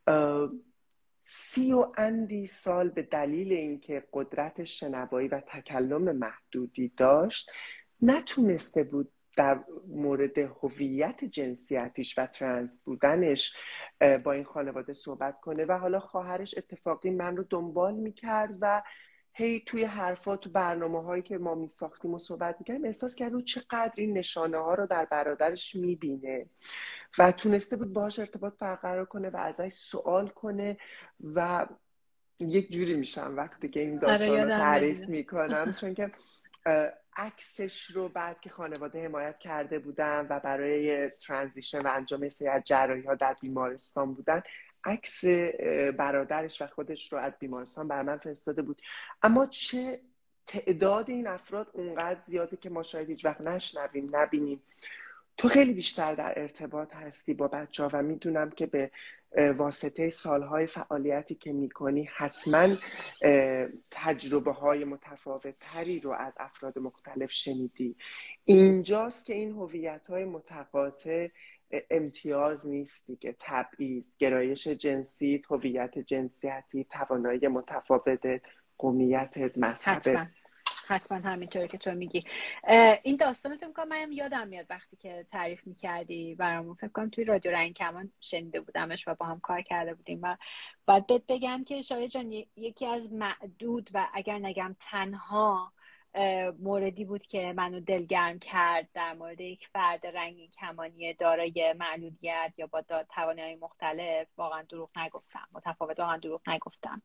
30 و اندی سال به دلیل اینکه قدرت شنوایی و تکلم محدودی داشت نتونسته بود در مورد هویت جنسیتیش و ترنس بودنش با این خانواده صحبت کنه و حالا خواهرش اتفاقی من رو دنبال میکرد و هی توی حرفا تو برنامه هایی که ما می ساختیم و صحبت میکردیم احساس کرد رو چقدر این نشانه ها رو در برادرش میبینه و تونسته بود باهاش ارتباط برقرار کنه و ازش سوال کنه و یک جوری میشم وقتی که این داستان رو تعریف میکنم چون که عکسش رو بعد که خانواده حمایت کرده بودن و برای ترانزیشن و انجام سری از جراحی ها در بیمارستان بودن، عکس برادرش و خودش رو از بیمارستان بر من فرستاده بود. اما چه تعداد این افراد اونقدر زیاده که ما شاید هیچ وقت نشنویم، نبینیم. تو خیلی بیشتر در ارتباط هستی با بچه‌ها و میدونم که به واسطه سالهای فعالیتی که میکنی حتما تجربه های متفاوت تری رو از افراد مختلف شنیدی. اینجاست که این هویت های متقاطع امتیاز نیست دیگه، تبعیض، گرایش جنسی، هویت جنسیتی، توانایی متفاوت، قومیت، مذهب. حتما همینطوره که تو میگی. این داستان فکر کنم منم یادم میاد وقتی که تعریف میکردی برامون، فکر کنم توی رادیو رنگ کمان شنیده بودمش و با هم کار کرده بودیم و باید بهت بگم که شایعه جان یکی از معدود و اگر نگم تنها موردی بود که منو دلگرم کرد در مورد یک فرد رنگین کمانی دارای معلولیت یا با توانایی مختلف. واقعا دروغ نگفتم، متفاوت، واقعا دروغ نگفتم.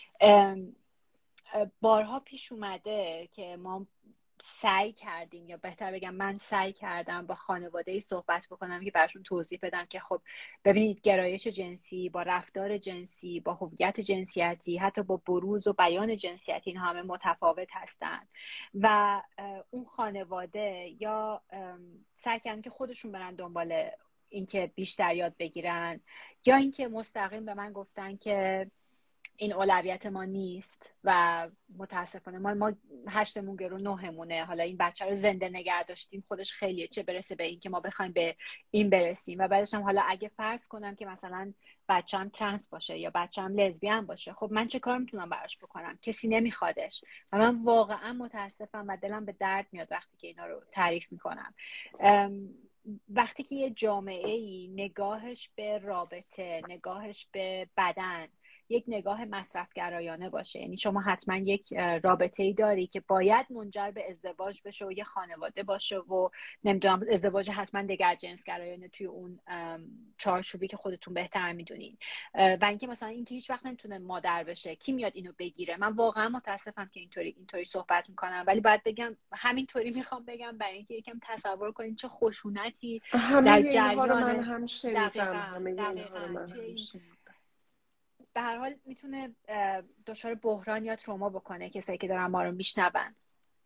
بارها پیش اومده که ما سعی کردیم، یا بهتر بگم من سعی کردم با خانواده‌ای صحبت بکنم که براشون توضیح بدم که خب ببینید گرایش جنسی با رفتار جنسی، با هویت جنسیتی، حتی با بروز و بیان جنسیتی، این همه متفاوت هستن و اون خانواده یا سعی کردن که خودشون برن دنبال اینکه بیشتر یاد بگیرن، یا اینکه مستقیم به من گفتن که این اولویت ما نیست و متاسفانه ما 8مون گرو 9مونه، حالا این بچه رو زنده نگه داشتیم خودش خیلیه، چه برسه به این که ما بخوایم به این برسیم. و بعدش هم حالا اگه فرض کنم که مثلا بچه‌م ترنس باشه یا بچه‌م لزبیان باشه، خب من چه کار میتونم براش بکنم؟ کسی نمیخوادش و من واقعا متاسفم و دلم به درد میاد وقتی که اینا رو تعریف میکنم. وقتی که یه جامعه‌ای نگاهش به رابطه، نگاهش به بدن یک نگاه مصرفگرایانه باشه، یعنی شما حتما یک رابطه‌ای داری که باید منجر به ازدواج بشه و یه خانواده باشه و نمیدونم ازدواج حتما دگرجنسگرایانه توی اون چارچوبی که خودتون بهتر میدونین، و اینکه مثلا اینکه هیچ وقت نمیتونه مادر بشه، کی میاد اینو بگیره؟ من واقعا متاسفم که اینطوری صحبت میکنم، ولی باید بگم همینطوری میخوام بگم برای اینکه یکم تصور کنین چه خشونتی همه در اینها رو من جریان. هم شنیدم، همه اینها رو من هم شنیدم. به هر حال میتونه دچار بحران یا تروما بکنه کسایی که دارن ما رو میشنون.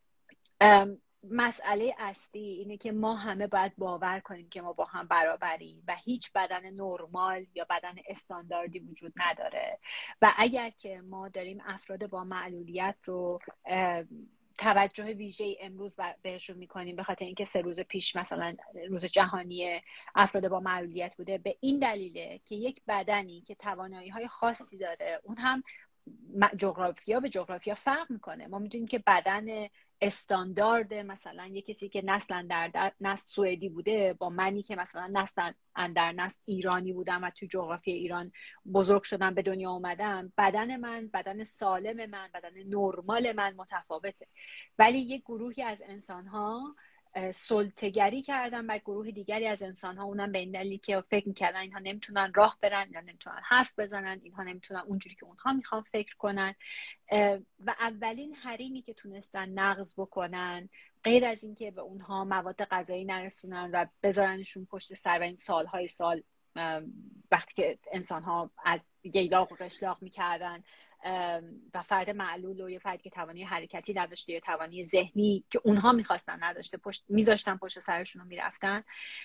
مسئله اصلی اینه که ما همه باید باور کنیم که ما با هم برابریم و هیچ بدن نرمال یا بدن استانداردی وجود نداره و اگر که ما داریم افراد با معلولیت رو توجه ویژه امروز بهشون میکنیم به خاطر اینکه 3 روز پیش مثلا روز جهانی افراد با معلولیت بوده، به این دلیله که یک بدنی که توانایی های خاصی داره، اون هم جغرافیا به جغرافیا فرق میکنه. ما میدونیم که بدن استاندارد مثلا یک کسی که نسل در نسل سوئدی بوده با منی که مثلا نسل در نسل ایرانی بودم و تو جغرافی ایران بزرگ شدم به دنیا اومدم، بدن من، بدن سالم من، بدن نرمال من متفاوته. ولی یک گروهی از انسان‌ها سلطه‌گری کردن و گروه دیگری از انسان‌ها، اونم به این دلیل که فکر می‌کردن اینها نمیتونن راه برن یا نمیتونن حرف بزنن، اینها نمیتونن اونجوری که اونها میخوان فکر کنن و اولین حریمی که تونستن نقض بکنن غیر از اینکه به اونها مواد غذایی نرسونن و بذارنشون پشت سر و این سالهای سال وقتی که انسان‌ها از ییلاق و قشلاق میکردن و فرد معلول و یه فردی که توانی حرکتی نداشته یا توانی ذهنی که اونها میخواستن نداشته میذاشتن پشت سرشون رو میرفتن،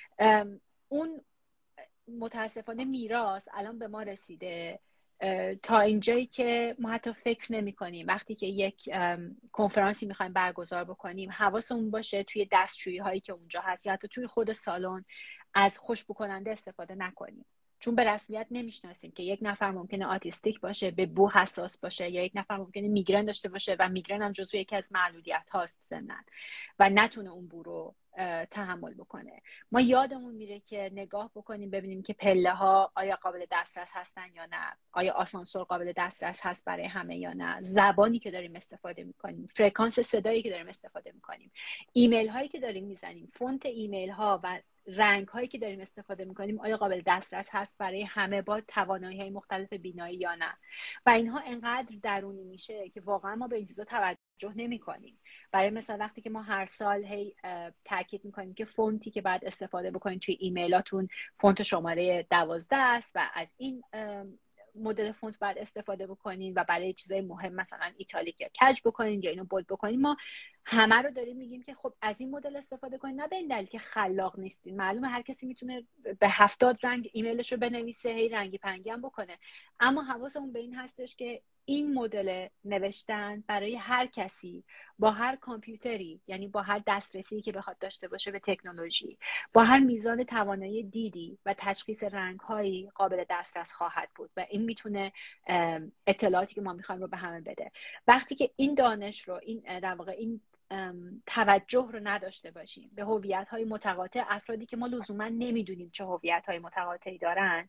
اون متاسفانه میراث الان به ما رسیده تا اینجایی که ما حتی فکر نمی کنیم وقتی که یک کنفرانسی میخوایم برگزار بکنیم حواسمون باشه توی دستشویی هایی که اونجا هست یا حتی توی خود سالن از خوشبو کننده استفاده نکنیم، چون به رسمیت نمیشناسیم که یک نفر ممکنه آتیستیک باشه، به بو حساس باشه، یا یک نفر ممکنه میگرن داشته باشه و میگرن هم جزو یکی از معلولیت هاست سنن و نتونه اون بو رو تحمل بکنه. ما یادمون میره که نگاه بکنیم ببینیم که پله ها آیا قابل دسترس هستن یا نه، آیا آسانسور قابل دسترس هست برای همه یا نه، زبانی که داریم استفاده میکنیم، فرکانس صدایی که داریم استفاده میکنیم، ایمیل هایی که داریم میزنیم، فونت ایمیل ها و رنگ هایی که داریم استفاده میکنیم آیا قابل دسترس هست برای همه با توانایی های مختلف بینایی یا نه. و اینها انقدر درونی میشه که واقعا ما به این چیزا توجه نمی کنیم. برای مثلا وقتی که ما هر سال هی تاکید میکنیم که فونتی که باید استفاده بکنید توی ایمیلاتون فونت شماره 12 است و از این مدل فونت باید استفاده بکنین و برای چیزای مهم مثلا ایتالیک یا کج بکنین یا اینو بولد بکنین، ما همه رو داریم میگیم که خب از این مدل استفاده کنین، نه به این دلیل که خلاق نیستین. معلومه هر کسی میتونه به 70 رنگ ایمیلش رو بنویسه، هی رنگی پنگی هم بکنه، اما حواسمون به این هستش که این مدل نوشتن برای هر کسی با هر کامپیوتری، یعنی با هر دسترسی که بخواد داشته باشه به تکنولوژی، با هر میزان توانایی دیدی و تشخیص رنگ‌هایی قابل دسترس خواهد بود و این میتونه اطلاعاتی که ما میخوایم رو به همه بده. وقتی که این دانش رو، این در واقع این توجه رو نداشته باشیم به هویت‌های متقاطع افرادی که ما لزوما نمیدونیم چه هویت‌های متقاطعی دارن،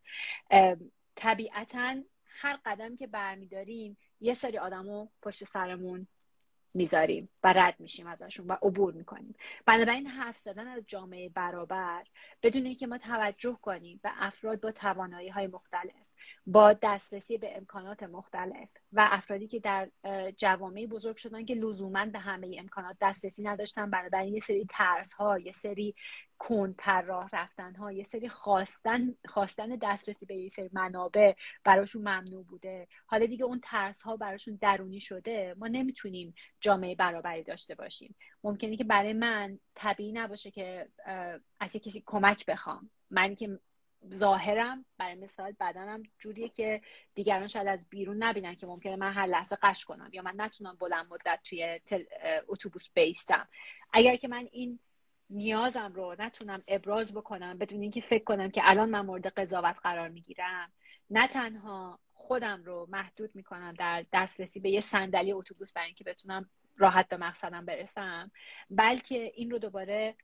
طبیعتاً هر قدم که برمیداریم یه سری آدمو پشت سرمون میذاریم و رد میشیم ازشون و عبور میکنیم. بنابراین حرف زدن از جامعه برابر بدون اینکه ما توجه کنیم به افراد با توانایی‌های مختلف، با دسترسی به امکانات مختلف و افرادی که در جوامعی بزرگ شدن که لزوما به همه امکانات دسترسی نداشتن، بنابراین یه سری ترس‌ها، یه سری کندتر راه رفتن‌ها، یه سری خواستن دسترسی به یه سری منابع براشون ممنوع بوده. حالا دیگه اون ترس‌ها براشون درونی شده، ما نمیتونیم جامعه برابری داشته باشیم. ممکنه که برای من طبیعی نباشه که از کسی کمک بخوام. من که ظاهرم برای مثال بدنم جوریه که دیگران شاید از بیرون نبینن که ممکنه من هر لحظه قش کنم یا من نتونم بلند مدت توی اتوبوس بیستم. اگر که من این نیازم رو نتونم ابراز بکنم بدون اینکه فکر کنم که الان من مورد قضاوت قرار میگیرم، نه تنها خودم رو محدود میکنم در دسترسی به یه صندلی اتوبوس برای اینکه بتونم راحت به مقصدم برسم، بلکه این رو دوباره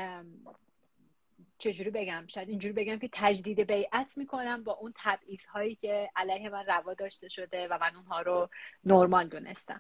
چجوری بگم، شاید اینجوری بگم که تجدید بیعت میکنم با اون تبعیض‌هایی که علیه من روا داشته شده و من اونها رو نرمال دونستم.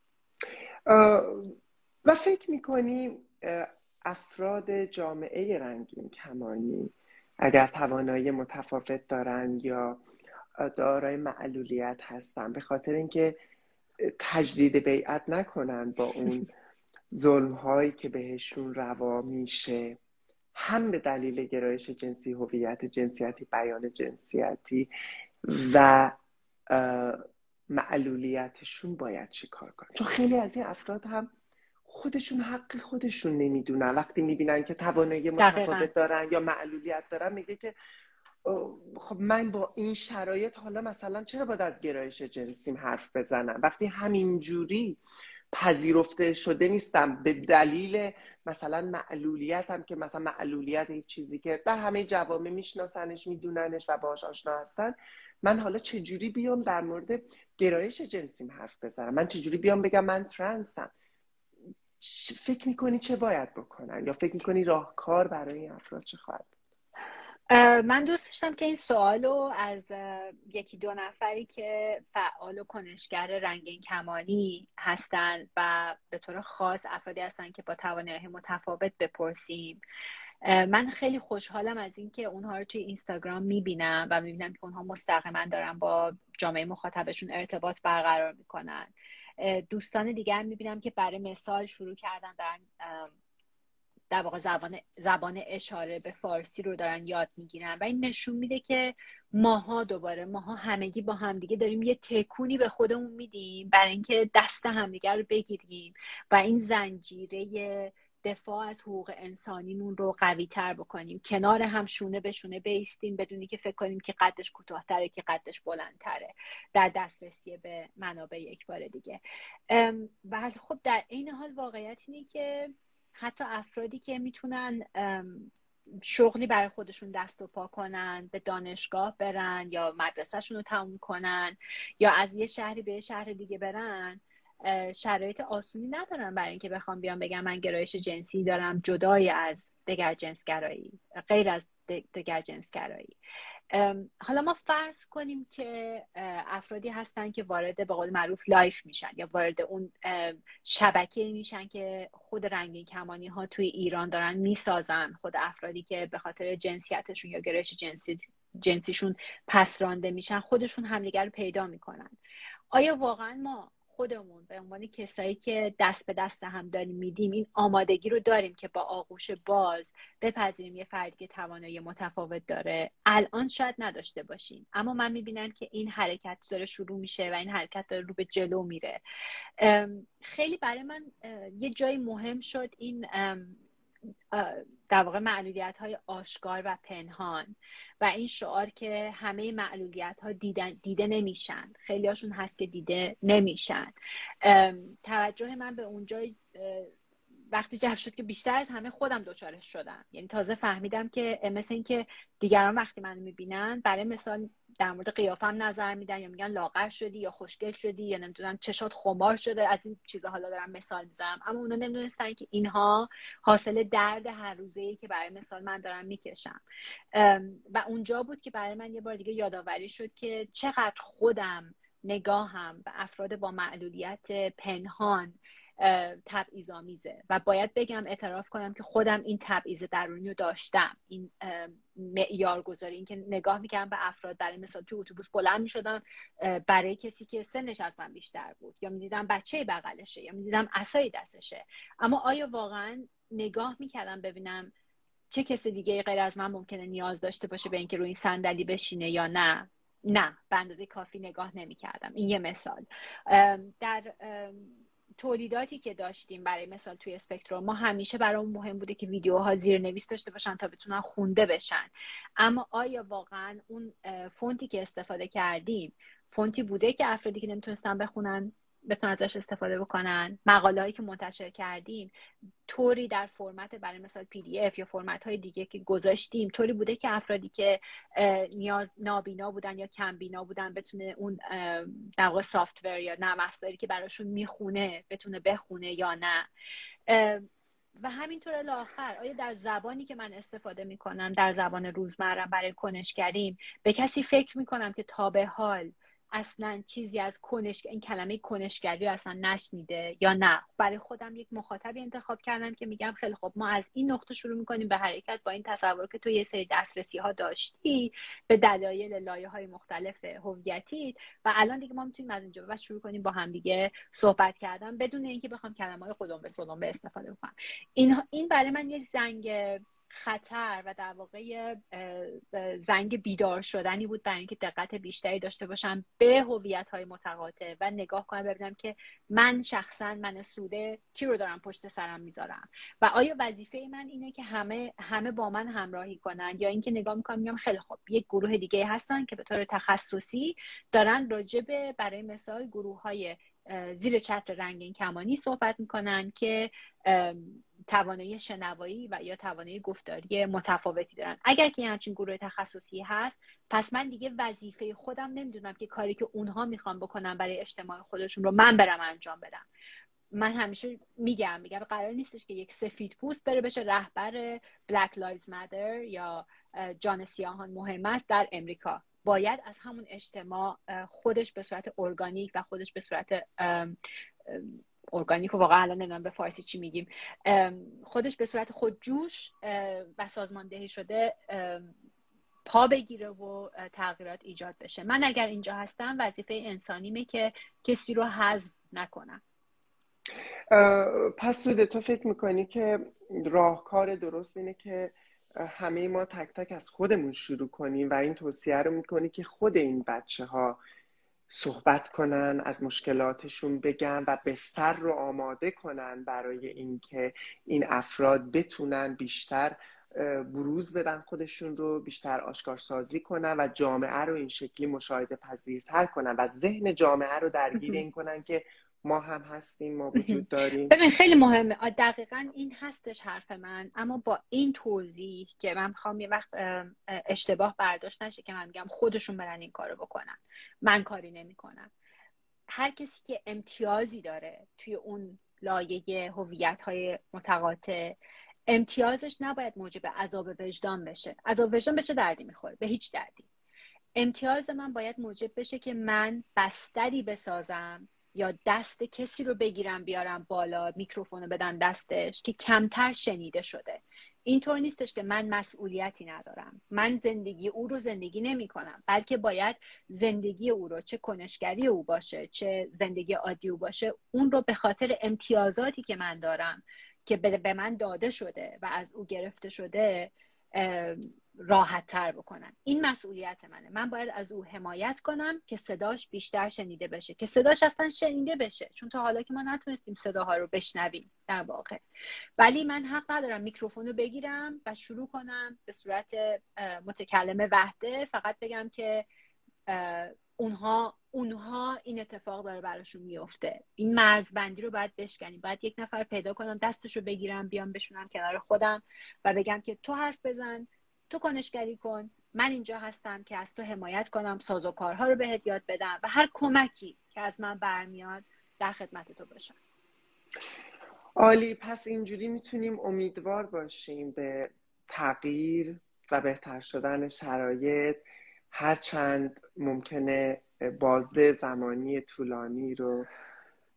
و فکر میکنی افراد جامعه رنگین کمانی اگر توانایی متفاوت دارن یا دارای معلولیت هستن، به خاطر اینکه تجدید بیعت نکنن با اون ظلم هایی که بهشون روا میشه، هم به دلیل گرایش جنسی، هویت جنسیتی، بیان جنسیتی و معلولیتشون باید چی کار کنن؟ چون خیلی از این افراد هم خودشون حق خودشون نمیدونن. وقتی میبینن که توانایی متفاوت دارن یا معلولیت دارن، میگه که خب من با این شرایط حالا مثلا چرا باید از گرایش جنسیم حرف بزنم وقتی همینجوری پذیرفته شده نیستم به دلیل مثلا معلولیتم، که مثلا معلولیت این چیزی که در همه جوامع میشناسنش، میدوننش و باهاش آشنا هستن. من حالا چجوری بیام در مورد گرایش جنسیم حرف بزنم؟ من چجوری بیام بگم من ترنسم؟ فکر میکنی چه باید بکنن؟ یا فکر میکنی راهکار برای این افراد چه خواهد؟ من دوست داشتم که این سوالو از یکی دو نفری که فعال و کنشگر رنگین کمانی هستن و به طور خاص افرادی هستن که با توانایی متفاوت بپرسیم. من خیلی خوشحالم از اینکه اونها رو توی اینستاگرام میبینم و میبینم که اونها مستقیما دارن با جامعه مخاطبشون ارتباط برقرار میکنن. دوستان دیگر هم میبینم که برای مثال شروع کردن دارن در واقع زبان اشاره به فارسی رو دارن یاد میگیرن و این نشون میده که ماها همگی با همدیگه داریم یه تکونی به خودمون میدیم برای اینکه دست همدیگه رو بگیریم و این زنجیره دفاع از حقوق انسانیمون رو قوی تر بکنیم، کنار هم شونه به شونه بایستیم بدونی که فکر کنیم که قدش کوتاه‌تره که قدش بلندتره در دسترسی به منابع یک بار دیگه. ولی خب در این حال واقعیت اینه که حتی افرادی که میتونن شغلی برای خودشون دست و پا کنن، به دانشگاه برن یا مدرسهشون رو تموم کنن یا از یه شهری به یه شهر دیگه برن، شرایط آسونی ندارن برای اینکه بخوام بیان بگم من گرایش جنسی دارم جدای از دگرجنسگرایی، غیر از دگرجنسگرایی. حالا ما فرض کنیم که افرادی هستن که وارد به قول معروف لایف میشن یا وارد اون شبکه میشن که خود رنگین کمانی ها توی ایران دارن میسازن، خود افرادی که به خاطر جنسیتشون یا گرایش جنسیشون پس رانده میشن خودشون همدیگر رو پیدا میکنن. آیا واقعا ما خودمون به عنوان کسایی که دست به دست هم داریم میدیم این آمادگی رو داریم که با آغوش باز بپذیریم یه فردی که توانایی متفاوت داره؟ الان شاید نداشته باشیم، اما من میبینم که این حرکت داره شروع میشه و این حرکت داره رو به جلو میره. خیلی برای من یه جایی مهم شد این در واقع معلولیت‌های آشکار و پنهان و این شعار که همه معلولیت‌ها دیده نمیشن، خیلی هاشون هست که دیده نمیشن. توجه من به اونجای وقتی جلب شد که بیشتر از همه خودم دوچارش شدم. یعنی تازه فهمیدم که مثل این که دیگران وقتی منو میبینن برای مثال در مورد قیافم نظر میدن یا میگن لاغر شدی یا خوشگل شدی یا نمیدونم چشات خمار شده، از این چیزا حالا دارم مثال میزنم، اما اونا نمیدونستن که اینها حاصل درد هر روزه‌ای که برای مثال من دارم میکشم. و اونجا بود که برای من یه بار دیگه یادآوری شد که چقدر خودم نگاهم به افراد با معلولیت پنهان تبعیض‌آمیزه و باید بگم اعتراف کنم که خودم این تبعیض درونی رو داشتم. این معیار گذاری، این که نگاه میکردم به افراد، برای مثال تو اتوبوس بلند میشدم برای کسی که سنش از من بیشتر بود، یا میدیدم بچه بغلشه، یا میدیدم عصای دستشه، اما آیا واقعا نگاه میکردم ببینم چه کسی دیگه غیر از من ممکنه نیاز داشته باشه به اینکه روی این صندلی بشینه یا نه؟ نه، به اندازه کافی نگاه نمی‌کردم. این یه مثال. در تولیداتی که داشتیم برای مثال توی اسپکتروم، ما همیشه برامون مهم بوده که ویدیوها زیرنویس داشته باشن تا بتونن خونده بشن، اما آیا واقعا اون فونتی که استفاده کردیم فونتی بوده که افرادی که نمیتونستن بخونن بتونن ازش استفاده بکنن؟ مقاله هایی که منتشر کردیم طوری در فرمت برای مثال PDF یا فرمت های دیگه که گذاشتیم طوری بوده که افرادی که نیاز نابینا بودن یا کم بینا بودن بتونه اون در واقع سافتور یا نرم افزاری که براشون میخونه بتونه بخونه یا نه؟ و همینطور الی آخر، آیا در زبانی که من استفاده میکنم، در زبان روزمرم برای کنشگریم، به کسی فکر میکنم که تا به حال اصلا چیزی از این کلمه کنشگری اصلا نشنیده یا نه؟ برای خودم یک مخاطبی انتخاب کردم که میگم خیلی خب ما از این نقطه شروع میکنیم به حرکت با این تصور که تو یه سری دسترسی ها داشتی به دلایل لایه‌های مختلف هویتی، و الان دیگه ما میتونیم از اینجا بعد شروع کنیم با هم دیگه صحبت کردن بدون اینکه بخوام کلمه‌های خودم به سلم به استفاده کنم. این برای من یک زنگ خطر و در واقع زنگ بیدار شدنی بود برای اینکه دقت بیشتری داشته باشم به هویت‌های متقاطع و نگاه کنم ببینم که من شخصا، من سوده کی رو دارم پشت سرم میذارم و آیا وظیفه من اینه که همه با من همراهی کنن، یا اینکه نگاه میکنم میگم خیلی خب یک گروه دیگه هستن که به طور تخصصی دارن راجع برای مثال گروه‌های زیر چتر رنگین کمانی صحبت میکنن که توانایی شنوایی و یا توانایی گفتاری متفاوتی دارن. اگر که همچین گروه تخصصی هست، پس من دیگه وظیفه خودم نمیدونم که کاری که اونها میخوان بکنن برای اجتماع خودشون رو من برم انجام بدم. من همیشه میگم قرار نیستش که یک سفید پوست بره بشه رهبر Black Lives Matter یا جان سیاهان مهم است در امریکا. باید از همون اجتماع خودش به صورت ارگانیک و خودش به صورت ارگانیک و واقعا الان نمیدونم به فارسی چی میگیم، خودش به صورت خودجوش و سازماندهی شده پا بگیره و تغییرات ایجاد بشه. من اگر اینجا هستم وظیفه انسانیمه که کسی رو حذف نکنم. پس سوده، تو فکر میکنی که راهکار درست اینه که همه ما تک تک از خودمون شروع کنیم و این توصیه رو میکنی که خود این بچه ها صحبت کنن، از مشکلاتشون بگن و بستر رو آماده کنن برای اینکه این افراد بتونن بیشتر بروز بدن خودشون رو، بیشتر آشکارسازی کنن و جامعه رو این شکلی مشاهده پذیرتر کنن و ذهن جامعه رو درگیر این کنن که ما هم هستیم، ما وجود داریم. ببین خیلی مهمه، دقیقاً این هستش حرف من، اما با این توضیح که من میخوام یه وقت اشتباه برداشت نشه که من میگم خودشون برن این کارو بکنن، من کاری نمیکنم. هر کسی که امتیازی داره توی اون لایه هویت‌های متقاطع، امتیازش نباید موجب عذاب وجدان بشه. عذاب وجدان به چه دردی میخوره؟ به هیچ دردی. امتیاز من باید موجب بشه که من بستری بسازم یا دست کسی رو بگیرم بیارم بالا، میکروفون رو بدم دستش که کمتر شنیده شده. اینطور نیستش که من مسئولیتی ندارم، من زندگی او رو زندگی نمی کنم، بلکه باید زندگی او رو، چه کنشگری او باشه چه زندگی عادی او باشه، اون رو به خاطر امتیازاتی که من دارم که به من داده شده و از او گرفته شده راحت تر بکنم. این مسئولیت منه. من باید از او حمایت کنم که صداش بیشتر شنیده بشه، که صداش اصلا شنیده بشه، چون تا حالا که ما نتونستیم صداها رو بشنویم در واقع. ولی من حق ندارم میکروفون رو بگیرم و شروع کنم به صورت متکلم وحده فقط بگم که اونها این اتفاق داره براشون میفته. این مرزبندی رو باید بشکنیم. باید یک نفر پیدا کنم دستش رو بگیرم بیام بشونم کنار خودم و بگم که تو حرف بزن، تو کنشگری کن، من اینجا هستم که از تو حمایت کنم، سازوکارها رو بهت یاد بدم و هر کمکی که از من برمیاد در خدمت تو باشم. عالی. پس اینجوری میتونیم امیدوار باشیم به تغییر و بهتر شدن شرایط، هرچند ممکنه بازده زمانی طولانی رو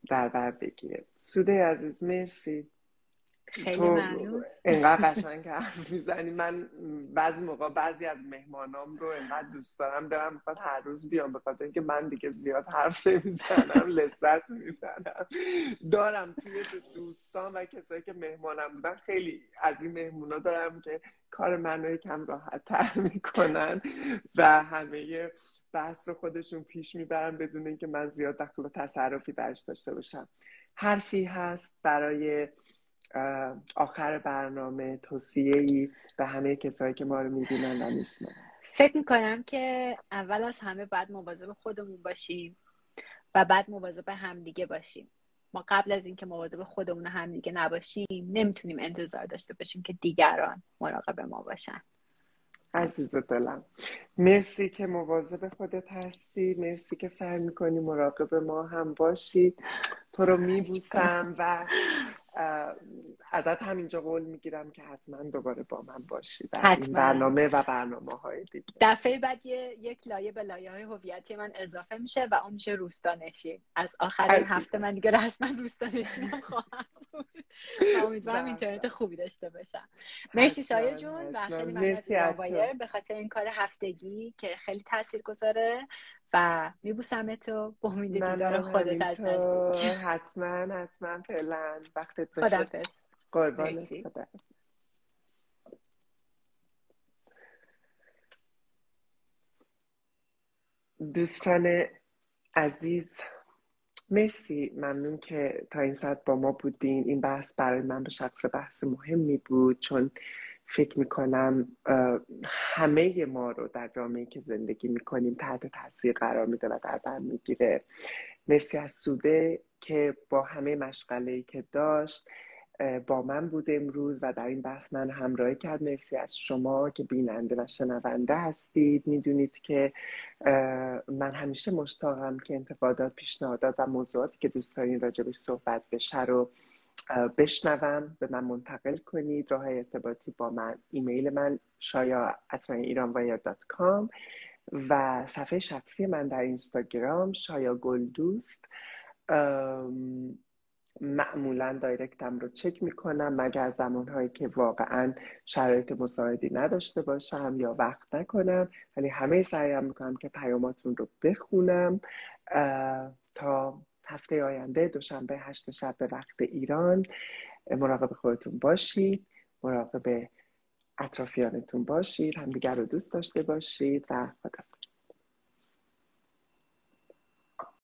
در بر بگیره. سوده عزیز مرسی، خیلی تو ممنون. انقدر قشنگ حرف میزنی. من بعضی موقع بعضی از مهمانام رو انقدر دوست دارم میخواد هر روز بیام، به خاطر اینکه من دیگه زیاد حرف نمیزنم، لذت میبرم. دارم توی دوستان و کسایی که مهمانم بودن، خیلی از این مهمونا دارم که کار منو یکم راحت تر میکنن و همه بحث رو خودشون پیش میبرن بدون اینکه من زیاد دخل و تصرفی درش داشته باشم. حرفی هست برای آخر برنامه، توصیه‌ای به همه کسایی که ما رو میبینن و میشنن؟ فکر میکنم که اول از همه باید مواظب خودمون باشیم و بعد مواظب همدیگه باشیم. ما قبل از اینکه مواظب خودمون و همدیگه نباشیم نمیتونیم انتظار داشته باشیم که دیگران مراقب ما باشن. عزیز دلم، مرسی که مواظب خودت هستی، مرسی که سعی میکنی مراقب ما هم باشی. تو رو میبوسم و ازت همینجا قول میگیرم که حتما دوباره با من باشی در این حتما برنامه و برنامه‌های دیگه. دفعه بعد یک لایه به لایه‌های هویتی من اضافه میشه و اون میشه روستانشین. از آخر این هفته من دیگه رسما روستانشینم خواهم بود و امیدوارم اینترنت خوبی داشته باشم. مرسی شایع جون و خیلی ممنون از ایران وایر به خاطر این کار هفتگی که خیلی تاثیرگذاره و میبوسم تو به امید دیدار خودت از نزدیک. حتما فعلا وقتت بخیر. خداحافظ. قربانت. خدا. دوستان عزیز، مرسی، ممنون که تا این ساعت با ما بودین. این بحث برای من به شخص بحث مهمی بود، چون فکر میکنم همه ما رو در جامعه‌ای که زندگی میکنیم تحت تاثیر قرار میده و در بر میگیره. مرسی از سوده که با همه مشغله‌ای که داشت با من بود امروز و در این بحث من همراهی کرد. مرسی از شما که بیننده و شنونده هستید. میدونید که من همیشه مشتاقم که انتقادات، پیشنهادات و موضوعاتی که دوست دارین راجبش صحبت بشه رو بشنوم، به من منتقل کنید. راه ارتباطی با من، ایمیل من shaya@iranwire.com و صفحه شخصی من در اینستاگرام شایا گلدوست. معمولا دایرکتم رو چک میکنم مگر زمانهایی که واقعا شرایط مساعدی نداشته باشم یا وقت نکنم، ولی همه سعیم میکنم که پیاماتون رو بخونم. تا هفته آینده دوشنبه 8 شب به وقت ایران، مراقب خودتون باشید، مراقب اطرافیانتون باشید، همدیگر رو دوست داشته باشید و خدا.